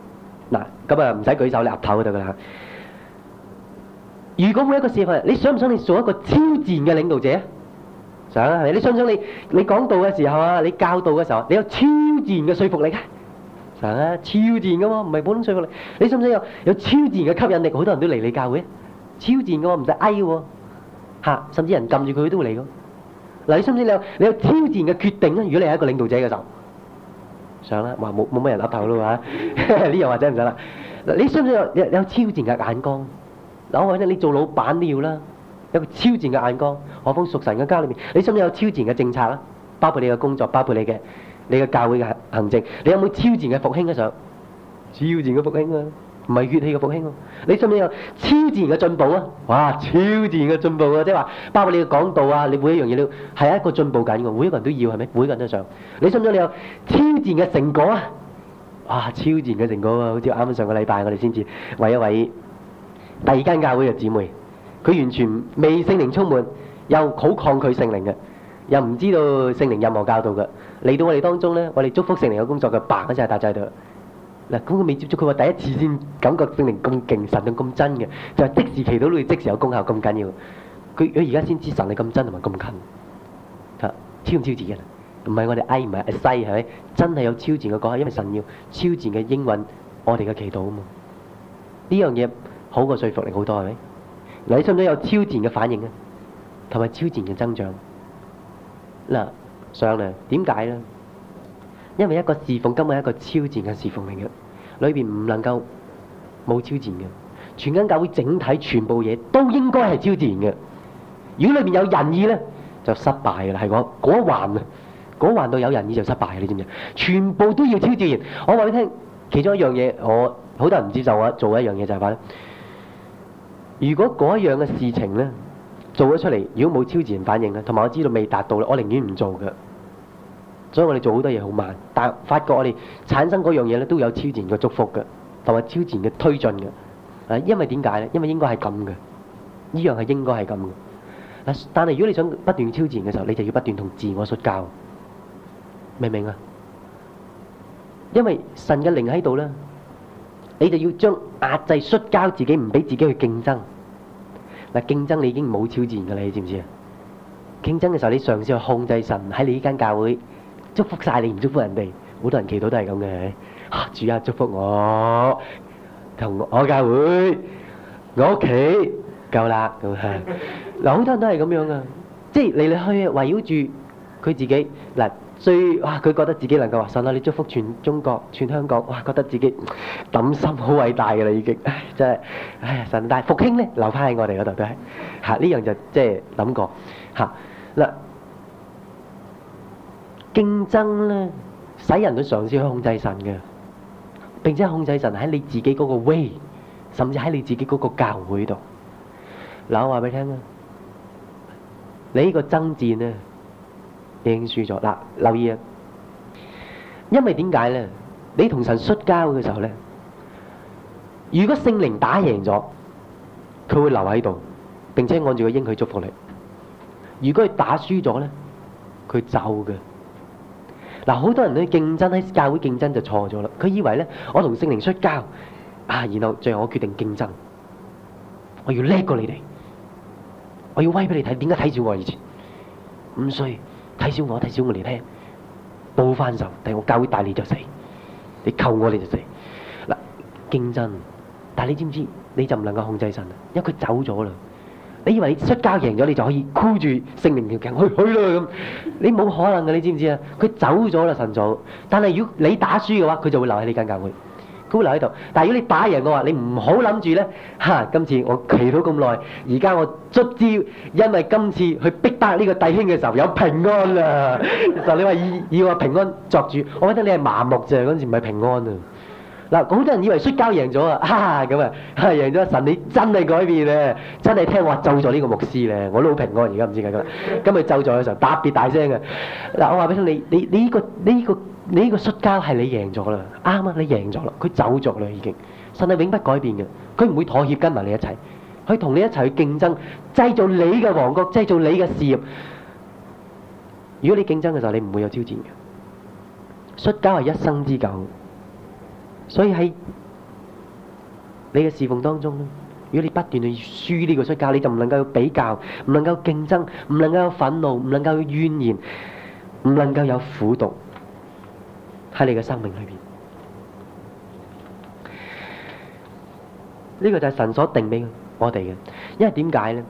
嗱，咁啊唔使舉手，你岌頭就得噶啦。如果每一個侍奉人，你想唔想你做一個超自然嘅領導者？想啊，係咪？你想唔想你講道嘅時候啊，你教導嘅時候，你有超自然嘅說服力啊？想啊，超自然噶嘛，唔係普通說服力。你想唔想有超自然嘅吸引力？好多人都嚟你教會，超自然噶喎，唔使嗌喎，嚇，甚至人撳住佢都會嚟噶。嗱，你想唔想你有超自然嘅決定啊？如果你係一個領導者嘅時候，想啦，話冇乜人岌頭咯嚇，呢樣或者唔使啦。嗱，你想唔想有超自然嘅眼光？嗱，我話你做老闆都要啦，有個超自然嘅眼光。何況屬神嘅家裏面，你想唔想有超自然嘅政策啦？包括你嘅工作，包括你嘅教會嘅行政，你有冇超自然嘅復興啊？上超自然嘅復興啊，唔係血氣嘅復興啊！你想唔想有超自然嘅進步啊？哇，超自然嘅進步啊！即係話包括你嘅講道啊，你每一樣嘢都係一個進步緊嘅，每一個人都要係咪？每一個人都想。你想唔想你有超自然嘅成果啊？哇，超自然嘅成果啊！好似啱啱上個禮拜我哋先至為一位第二間教會嘅姊妹，佢完全未聖靈充滿，又好抗拒聖靈嘅，又唔知道聖靈任何教導嘅，嚟到我哋當中咧，我哋祝福聖靈嘅工作嘅白嗰陣係搭喺度。嗱，咁佢未接觸，佢話第一次先感覺聖靈咁勁，神係咁真嘅，就係即時祈禱都會即時有功效咁緊要。佢而家先知神係咁真同埋咁近，嚇超唔超自然？唔係我哋唔係西係咪？真係有超自然嘅講，因為神要超自然嘅應允我哋嘅祈禱啊嘛。呢樣嘢好過說服力好多係咪？嗱，你想唔想有超自然嘅反應啊？同埋超自然嘅增長？嗱，上嚟點解咧？因為一個侍奉根本係一個超自然嘅侍奉嚟嘅，裏邊唔能夠冇超自然嘅。全間教會整體全部嘢都應該係超自然嘅。如果裏邊有仁義咧，就失敗嘅啦。係嗰一環啊，嗰環到有仁義就失敗嘅，你知唔知？全部都要超自然。我話俾你聽，其中一樣嘢，我好多人唔接受我做一樣嘢就係話咧，如果嗰一樣嘅事情咧做咗出嚟，如果冇超自然反應咧，同埋我知道未達到咧，我寧願唔做嘅。所以我哋做好多嘢好慢，但係發覺我哋產生嗰樣嘢咧都有超自然嘅祝福嘅，同埋超自然嘅推進嘅。因為點解咧？因為應該係咁嘅，呢樣係應該係咁嘅。但係如果你想不斷超自然嘅時候，你就要不斷同自我摔跤，明唔明啊？因為神嘅靈喺度咧，你就要將壓制摔跤自己，唔俾自己去競爭。嗱，競爭你已經冇超自然嘅啦，你知唔知啊？競爭嘅時候，你嘗試去控制神喺你呢間教會。祝福晒你唔祝福人哋，好多人祈禱都係咁嘅。主啊，祝福我同我教會，我屋企夠啦咁係。嗱，好多人都係咁樣噶，即係嚟嚟去圍繞住佢自己嗱，佢覺得自己能夠話神啊，你祝福全中國、全香港，哇，覺得自己抌心好偉大嘅啦已經，真係，哎呀神，但係復興咧留翻喺我哋嗰度都係嚇，呢樣就即係諗過嚇嗱。競爭咧，使人都嘗試去控制神嘅，並且控制神喺你自己嗰個 way，甚至喺你自己嗰個教會度。嗱，我話俾你聽啊，你呢個爭戰咧已經輸咗。嗱，留意啊，因為點解咧？你同神摔跤嘅時候咧，如果聖靈打贏咗，佢會留喺度，並且按住個應許祝福你；如果佢打輸咗咧，佢走嘅。嗱，好多人咧競爭喺教會競爭就錯咗啦。佢以為咧，我同聖靈摔跤啊，然後最後我決定競爭，我要叻過你哋，我要威俾你睇。點解睇小我以前咁衰？睇小我嚟聽，報翻仇，但係我教會大你就死，你扣我你就死。嗱，競爭，但係你知唔知？你就唔能夠控制神啊，因為佢走咗啦。你以為你摔跤贏咗，你就可以箍住聖靈條頸去啦咁？你冇可能嘅，你知唔知啊？佢走咗啦，神早。但係如果你打輸嘅話，佢就會留喺呢間教會，佢會留喺度。但係如果你打贏嘅話，你唔好諗住咧嚇。今次我祈禱咁耐，而家我卒之因為今次去逼得呢個弟兄嘅時候有平安啦。就你話以我平安作主，我覺得你係麻木啫，嗰陣時唔係平安啊。嗱，好多人以為摔跤贏咗啊！咁啊，贏咗神，你真係改變咧，真係聽話咒咗呢個牧師咧，我都好平安。而家唔知點解今日咒咗嘅時候特別大聲嘅。嗱，我話俾你聽，你呢個摔跤係你贏咗啦，啱啊，你贏咗啦，佢走咗啦已經。神係永不改變嘅，佢唔會妥協跟埋你一齊，佢同你一齊去競爭，製造你嘅王國，製造你嘅事業。如果你競爭嘅時候，你唔會有挑戰嘅。摔跤係一生之久。所以喺你嘅侍奉當中咧，如果你不斷去輸呢個出教，你就唔能夠比較，唔能夠競爭，唔能夠有憤怒，唔能夠有怨言，唔能夠有苦毒喺你嘅生命裏邊。呢個就係神所定俾我哋嘅，因為點解咧？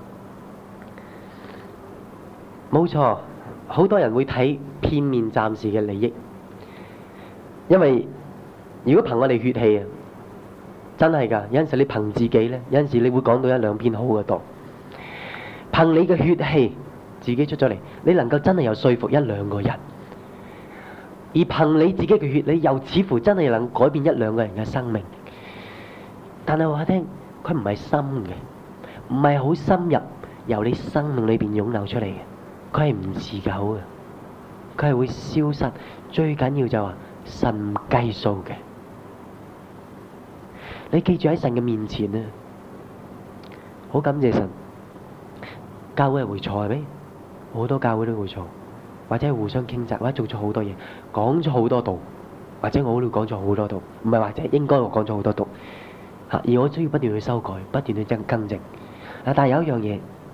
冇錯，好多人會睇片面暫時嘅利益，因為如果憑我哋血氣啊，真係㗎，有陣時你憑自己咧，有陣時你會講到一兩篇好嘅道，憑你嘅血氣自己出咗嚟，你能夠真係有說服一兩個人，而憑你自己嘅血，你又似乎真係能改變一兩個人嘅生命。但係話聽，佢唔係深嘅，唔係好深入由你生命裏邊湧流出嚟嘅，佢係唔持久嘅，佢係會消失。最緊要就話神唔計數嘅。你記住喺神嘅面前啊，好感謝神。教會係會錯係咪？好多教會都會錯，或者係互相傾責，或者做咗好多嘢，講咗好多道，或者我都講咗好多道，唔係或者應該我講咗好多道。而我需要不斷去修改，不斷去更正。但係有一樣嘢，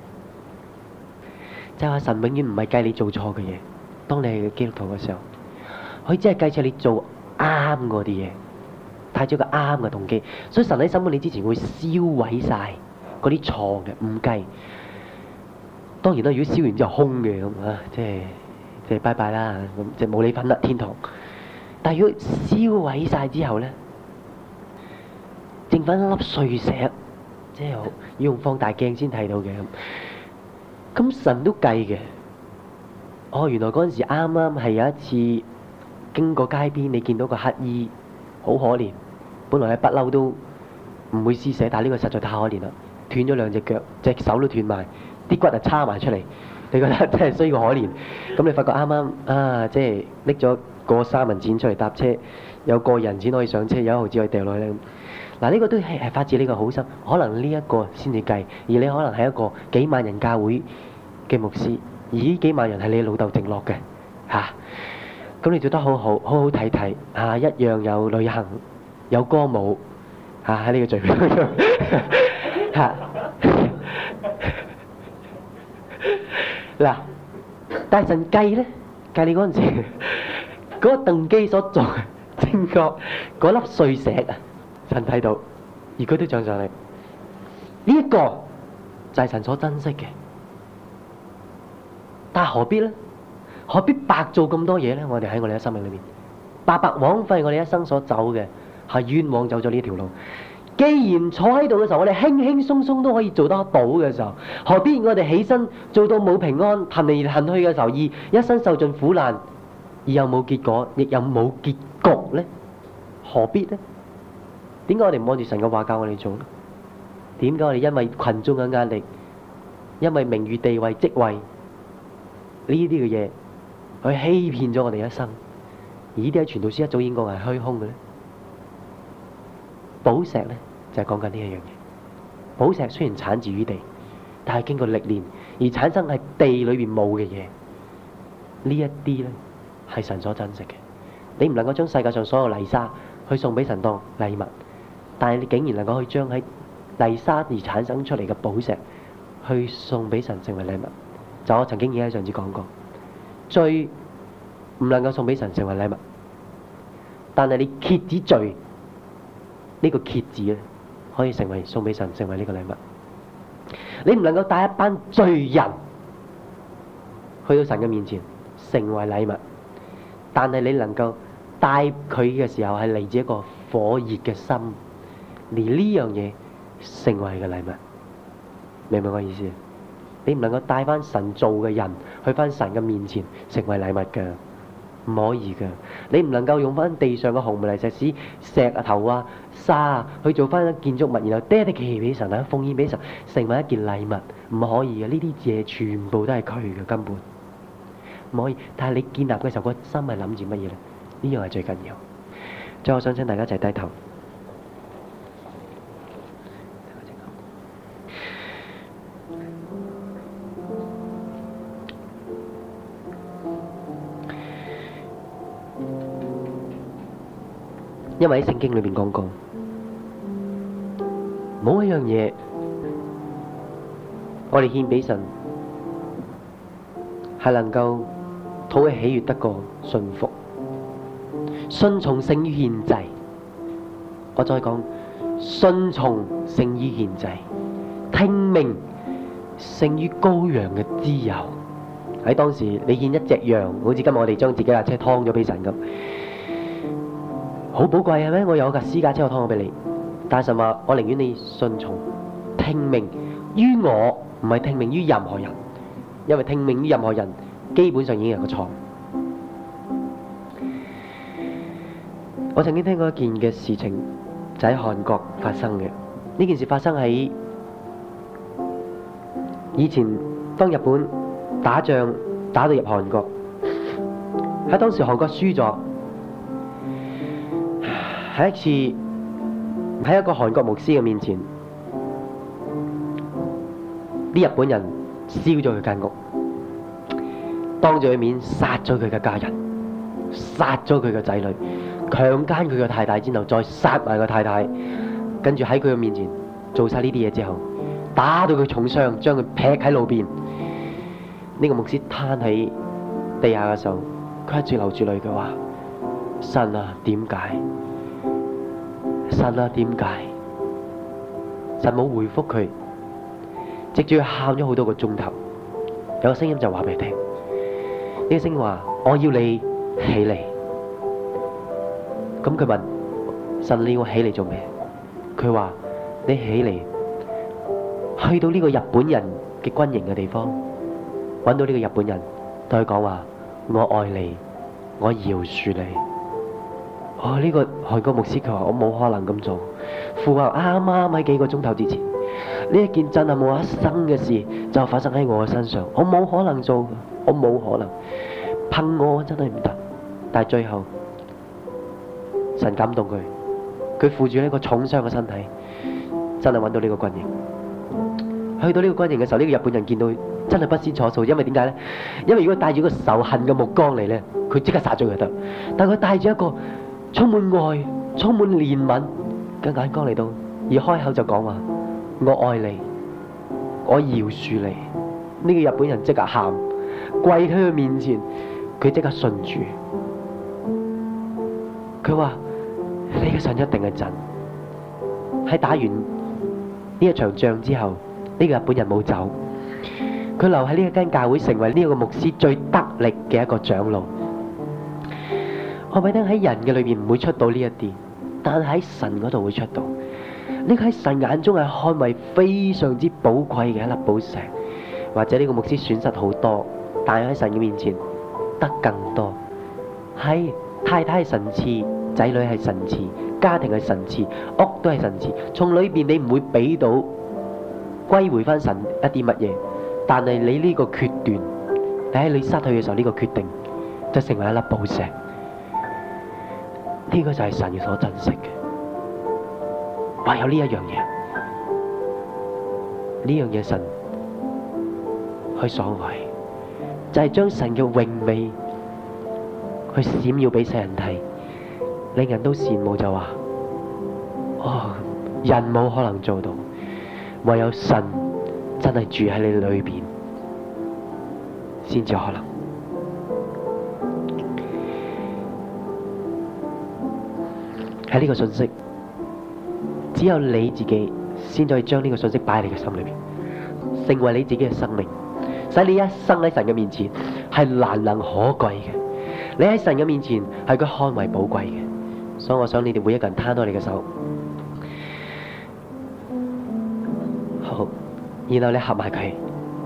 就係話神永遠唔係計你做錯嘅嘢。當你係基督徒嘅時候，佢只係計住你做啱嗰啲嘢，帶咗個啱嘅動機。所以神喺審判你之前會燒毀晒嗰啲錯嘅，唔計。當然啦，如果燒完之後空嘅咁啊，即係拜拜啦，咁即係冇你份啦，天堂。但係如果燒毀晒之後咧，剩翻一粒碎石，即係要用放大鏡先睇到嘅。咁神都計嘅。哦，原來嗰陣時啱啱係有一次經過街邊，你見到個乞兒好可憐，本來係不嬲都唔會施捨，但係呢個實在太可憐啦，斷咗兩隻腳，隻手都斷埋，啲骨就叉埋出嚟。你覺得真係衰過可憐。咁你發覺啱啱啊，即係拎咗個三文錢出嚟搭車，有個人錢可以上車，有一毫子可以掉落去咧。嗱，呢個都係發自呢個好心，可能呢一個先至計，而你可能係一個幾萬人教會嘅牧師，而呢幾萬人係你老豆剩落嘅嚇，咁你做得好好，好好睇睇嚇，一樣有旅行，有歌舞嚇喺呢個聚會當中嚇。嗱，但係神計咧，計你嗰陣時嗰個動機所做嘅正確嗰粒碎石啊！神睇到，而佢都漲上嚟，呢一個就係神所珍惜嘅。但係何必咧？何必白做咁多嘢咧？我哋喺我哋嘅生命裏面，白白枉費我哋一生所走嘅，係冤枉走咗呢條路。既然坐喺度嘅時候，我哋輕輕鬆鬆都可以做得到嘅時候，何必我哋起身做到冇平安，行嚟行去嘅時候，而一生受盡苦難，而又冇結果，亦又冇結局咧？何必咧？點解我哋唔按住神嘅話教我哋做咧？點解我哋因為群眾嘅壓力，因為名譽地位職位呢啲嘅嘢，去欺騙咗我哋一生？而呢啲喺傳道書一早已經講係虛空嘅咧。寶石咧就係講緊呢一樣嘢。寶石雖然產自於地，但係經過歷練而產生係地裏邊冇嘅嘢。呢一啲咧係神所珍惜嘅。你唔能夠將世界上所有泥沙去送俾神當禮物。但係你竟然能夠去將喺泥沙而產生出嚟嘅寶石，去送俾神成為禮物。就我曾經已經喺上次講過，罪唔能夠送俾神成為禮物，但係你蠍子罪呢個蠍子咧，可以成為送俾神成為呢個禮物。你唔能夠帶一班罪人去到神嘅面前成為禮物，但係你能夠帶佢嘅時候係嚟自一個火熱嘅心。而呢樣嘢成為嘅禮物，明唔明我意思？你唔能夠帶翻神做嘅人去翻神嘅面前成為禮物㗎，唔可以㗎。你唔能夠用翻地上嘅紅泥石屎、石頭啊、沙啊去做翻一建築物，然後dedicate俾神啊，奉獻俾神，成為一件禮物，唔可以嘅。呢啲嘢全部都係佢嘅根本，唔可以。但係你建立嘅時候，個心係諗住乜嘢咧？呢樣係最緊要。最後，我想請大家一齊低頭。因為喺聖經裏邊講過， 一樣嘢，我哋獻俾神，係能夠討佢喜悅得過順服，順從勝於獻祭。我再講，順從勝於獻祭，聽命勝於羔羊嘅脂油。喺當時，你獻一隻羊，好似今日我哋將自己架車劏咗俾神咁，好寶貴係咩？我有架私家車，我劏咗俾你。但神話，我寧願你順從聽命於我，唔係聽命於任何人，因為聽命於任何人基本上已經有個錯。我曾經聽過一件嘅事情，就喺韓國發生嘅。呢件事發生喺以前，當日本打仗打到入韓國，喺當時韓國輸咗，喺一次喺一個韓國牧師嘅面前，啲日本人燒咗佢間屋，當住佢面殺咗佢嘅家人，殺咗佢嘅仔女，強姦佢嘅太太之後，再殺埋個太太，跟住喺佢嘅面前做晒呢啲嘢之後，打到佢重傷，將佢劈喺路邊。呢個牧師攤喺地下嘅時候，佢一直流住淚，佢話：神啊，點解？神啊，點解？神冇回覆佢，直至佢喊咗好多個鐘頭。有個聲音就話俾佢聽，呢個聲音話：我要你起嚟。咁佢問神：你要我起嚟做咩？佢話：你起嚟，去到呢個日本人嘅軍營嘅地方，揾到呢個日本人，對佢講話：我愛你，我饒恕你。呢個韓國牧師佢話：我冇可能咁做。父話啱啱喺幾個鐘頭之前，呢一件真係冇一生嘅事就發生喺我嘅身上，我冇可能做，我冇可能，憑我真係唔得。但係最後神感動佢，佢負住呢個重傷嘅身體，真係揾到呢個軍營。去到呢個軍營嘅時候，呢個日本人見到真係不知所措，因為點解呢？因為如果帶住個仇恨嘅目光嚟呢，佢即刻殺咗佢得。但係佢帶住一個充滿愛、充滿憐憫嘅眼光嚟到，而開口就講話：我愛你，我饒恕你。呢個日本人即刻喊，跪喺佢面前，佢即刻信主。佢話：你嘅神一定係真。喺打完呢一場仗之後，呢個日本人冇走，佢留喺呢一間教會，成為呢個牧師最得力嘅一個長老。我咪聽喺人嘅裏邊唔會出到呢一啲，但係喺神嗰度會出到。呢個喺神眼中係看為非常之寶貴嘅一粒寶石，或者呢個牧師損失好多，但係喺神嘅面前得更多。係太太係神賜，仔女係神賜，家庭係神賜，屋都係神賜。從裏邊你唔會俾到歸回翻神一啲乜嘢，但係你呢個決斷，你喺你失去嘅時候呢個決定，就成為一粒寶石。呢個就係神所珍惜嘅。唯有呢一樣嘢，呢樣嘢神去所為，就係將神嘅榮美去閃耀俾世人睇，令人都羨慕，就話：人冇可能做到，唯有神真係住喺你裏邊，先至可能。喺呢個信息，只有你自己先可以將呢個信息擺喺你嘅心裏邊，成為你自己嘅生命，使你一生喺神嘅面前係難能可貴嘅。你喺神嘅面前係佢看為寶貴嘅。所以我想你哋每一個人攤開你嘅手，好，然後你合埋佢，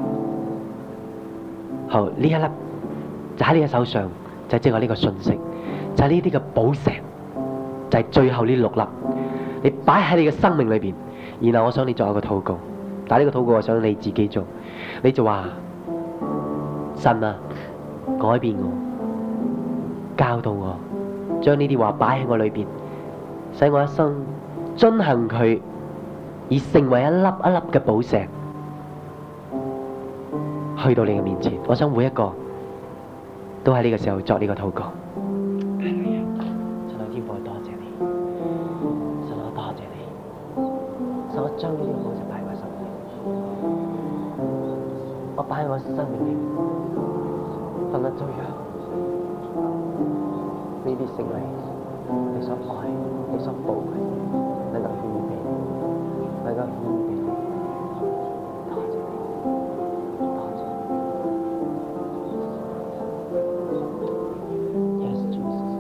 好，呢一粒就喺你嘅手上，就係即係呢個信息，就係呢啲嘅寶石。就係最後呢6粒，你擺喺你嘅生命裏邊，然後我想你做一個禱告，但係呢個禱告我想你自己做，你就話：神啊，改變我，教導我，將呢啲話擺喺我裏邊，使我一生遵行佢，而成為一粒一粒嘅寶石，去到你嘅面前。我想每一個都喺呢個時候作呢個禱告。 將呢啲嘅寶石擺喺我生命裏面，我擺喺我生命裏面，分得最讓呢啲成為你所愛、你所寶貴，能夠獻俾你，能夠獻俾你。多謝你，多謝你。Yes, Jesus。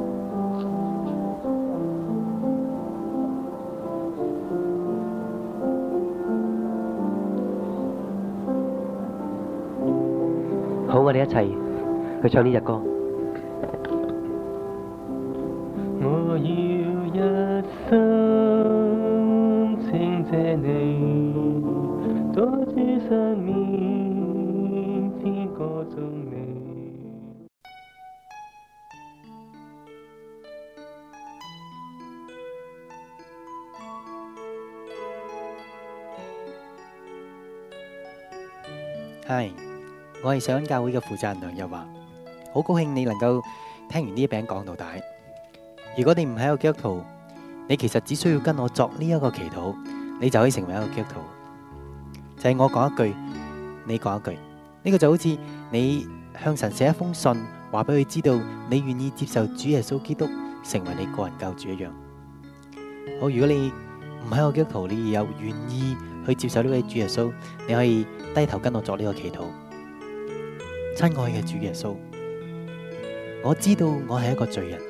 好，我哋一齊去唱呢隻歌。 我要一生稱謝你，在主生命天歌頌你。 係，我係上恩教會嘅負責人梁日華，好高興你能夠聽完呢一餅講道帶。如果你唔係一個基督徒，你其實只需要跟我作呢一個祈禱，你就可以成為一個基督徒。就係我講一句，你講一句，呢個就好似你向神寫一封信，話俾佢知道你願意接受主耶穌基督成為你個人救主一樣。好，如果你唔係一個基督徒，你有願意去接受呢位主耶穌，你可以低頭跟我作呢個祈禱。親愛嘅主耶穌，我知道我係一個罪人，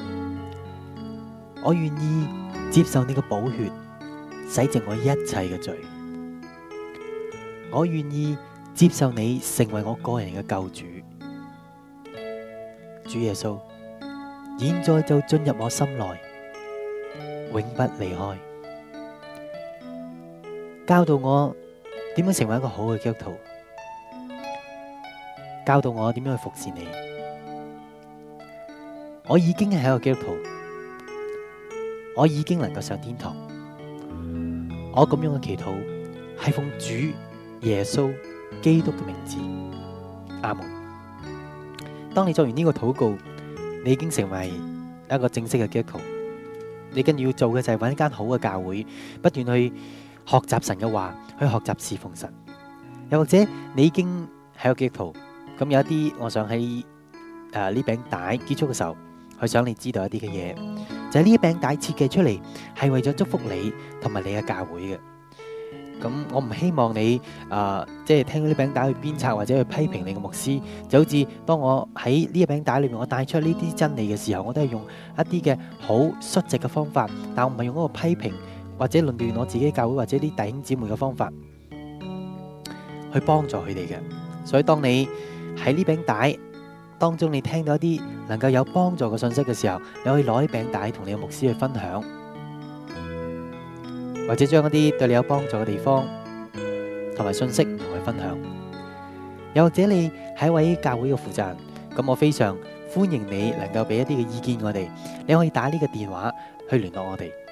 我願意接受你嘅寶血洗淨我一切嘅罪，我願意接受你成為我個人嘅救主。主耶穌，現在就進入我心內，永不離開，教導我點樣成為一個好嘅基督徒，教導我點樣去服侍你。我已經係一個基督徒，我已經能夠上天堂。我咁樣嘅祈禱係奉主耶穌基督嘅名字，阿門。當你做完呢個禱告，你已經成為一個正式嘅基督徒。你跟住要做嘅就係揾一間好嘅教會，不斷去學習神嘅話，去學習侍奉神。又或者你已經係一個基督徒，咁有一啲，我想喺呢餅帶結束嘅時候，去想你知道一啲嘅嘢，就係呢一餅帶設計出嚟係為咗祝福你同埋你嘅教會嘅。咁我唔希望你即係聽到呢餅帶去鞭策或者去批評你嘅牧師，就好似當我喺呢一餅帶裏面我帶出呢啲真理嘅時候，我都係用一啲嘅好率直嘅方法，但我唔係用嗰個批評或者論斷我自己教會或者啲弟兄姊妹嘅方法去幫助佢哋嘅。所以當你喺呢餅帶當中你聽到一啲能夠有幫助嘅信息嘅時候，你可以攞呢餅帶同你嘅牧師去分享，或者將一啲對你有幫助嘅地方同埋信息同佢分享。又或者你係一位教會嘅負責人，咁我非常歡迎你能夠俾一啲嘅意見我哋，你可以打呢個電話去聯絡我哋。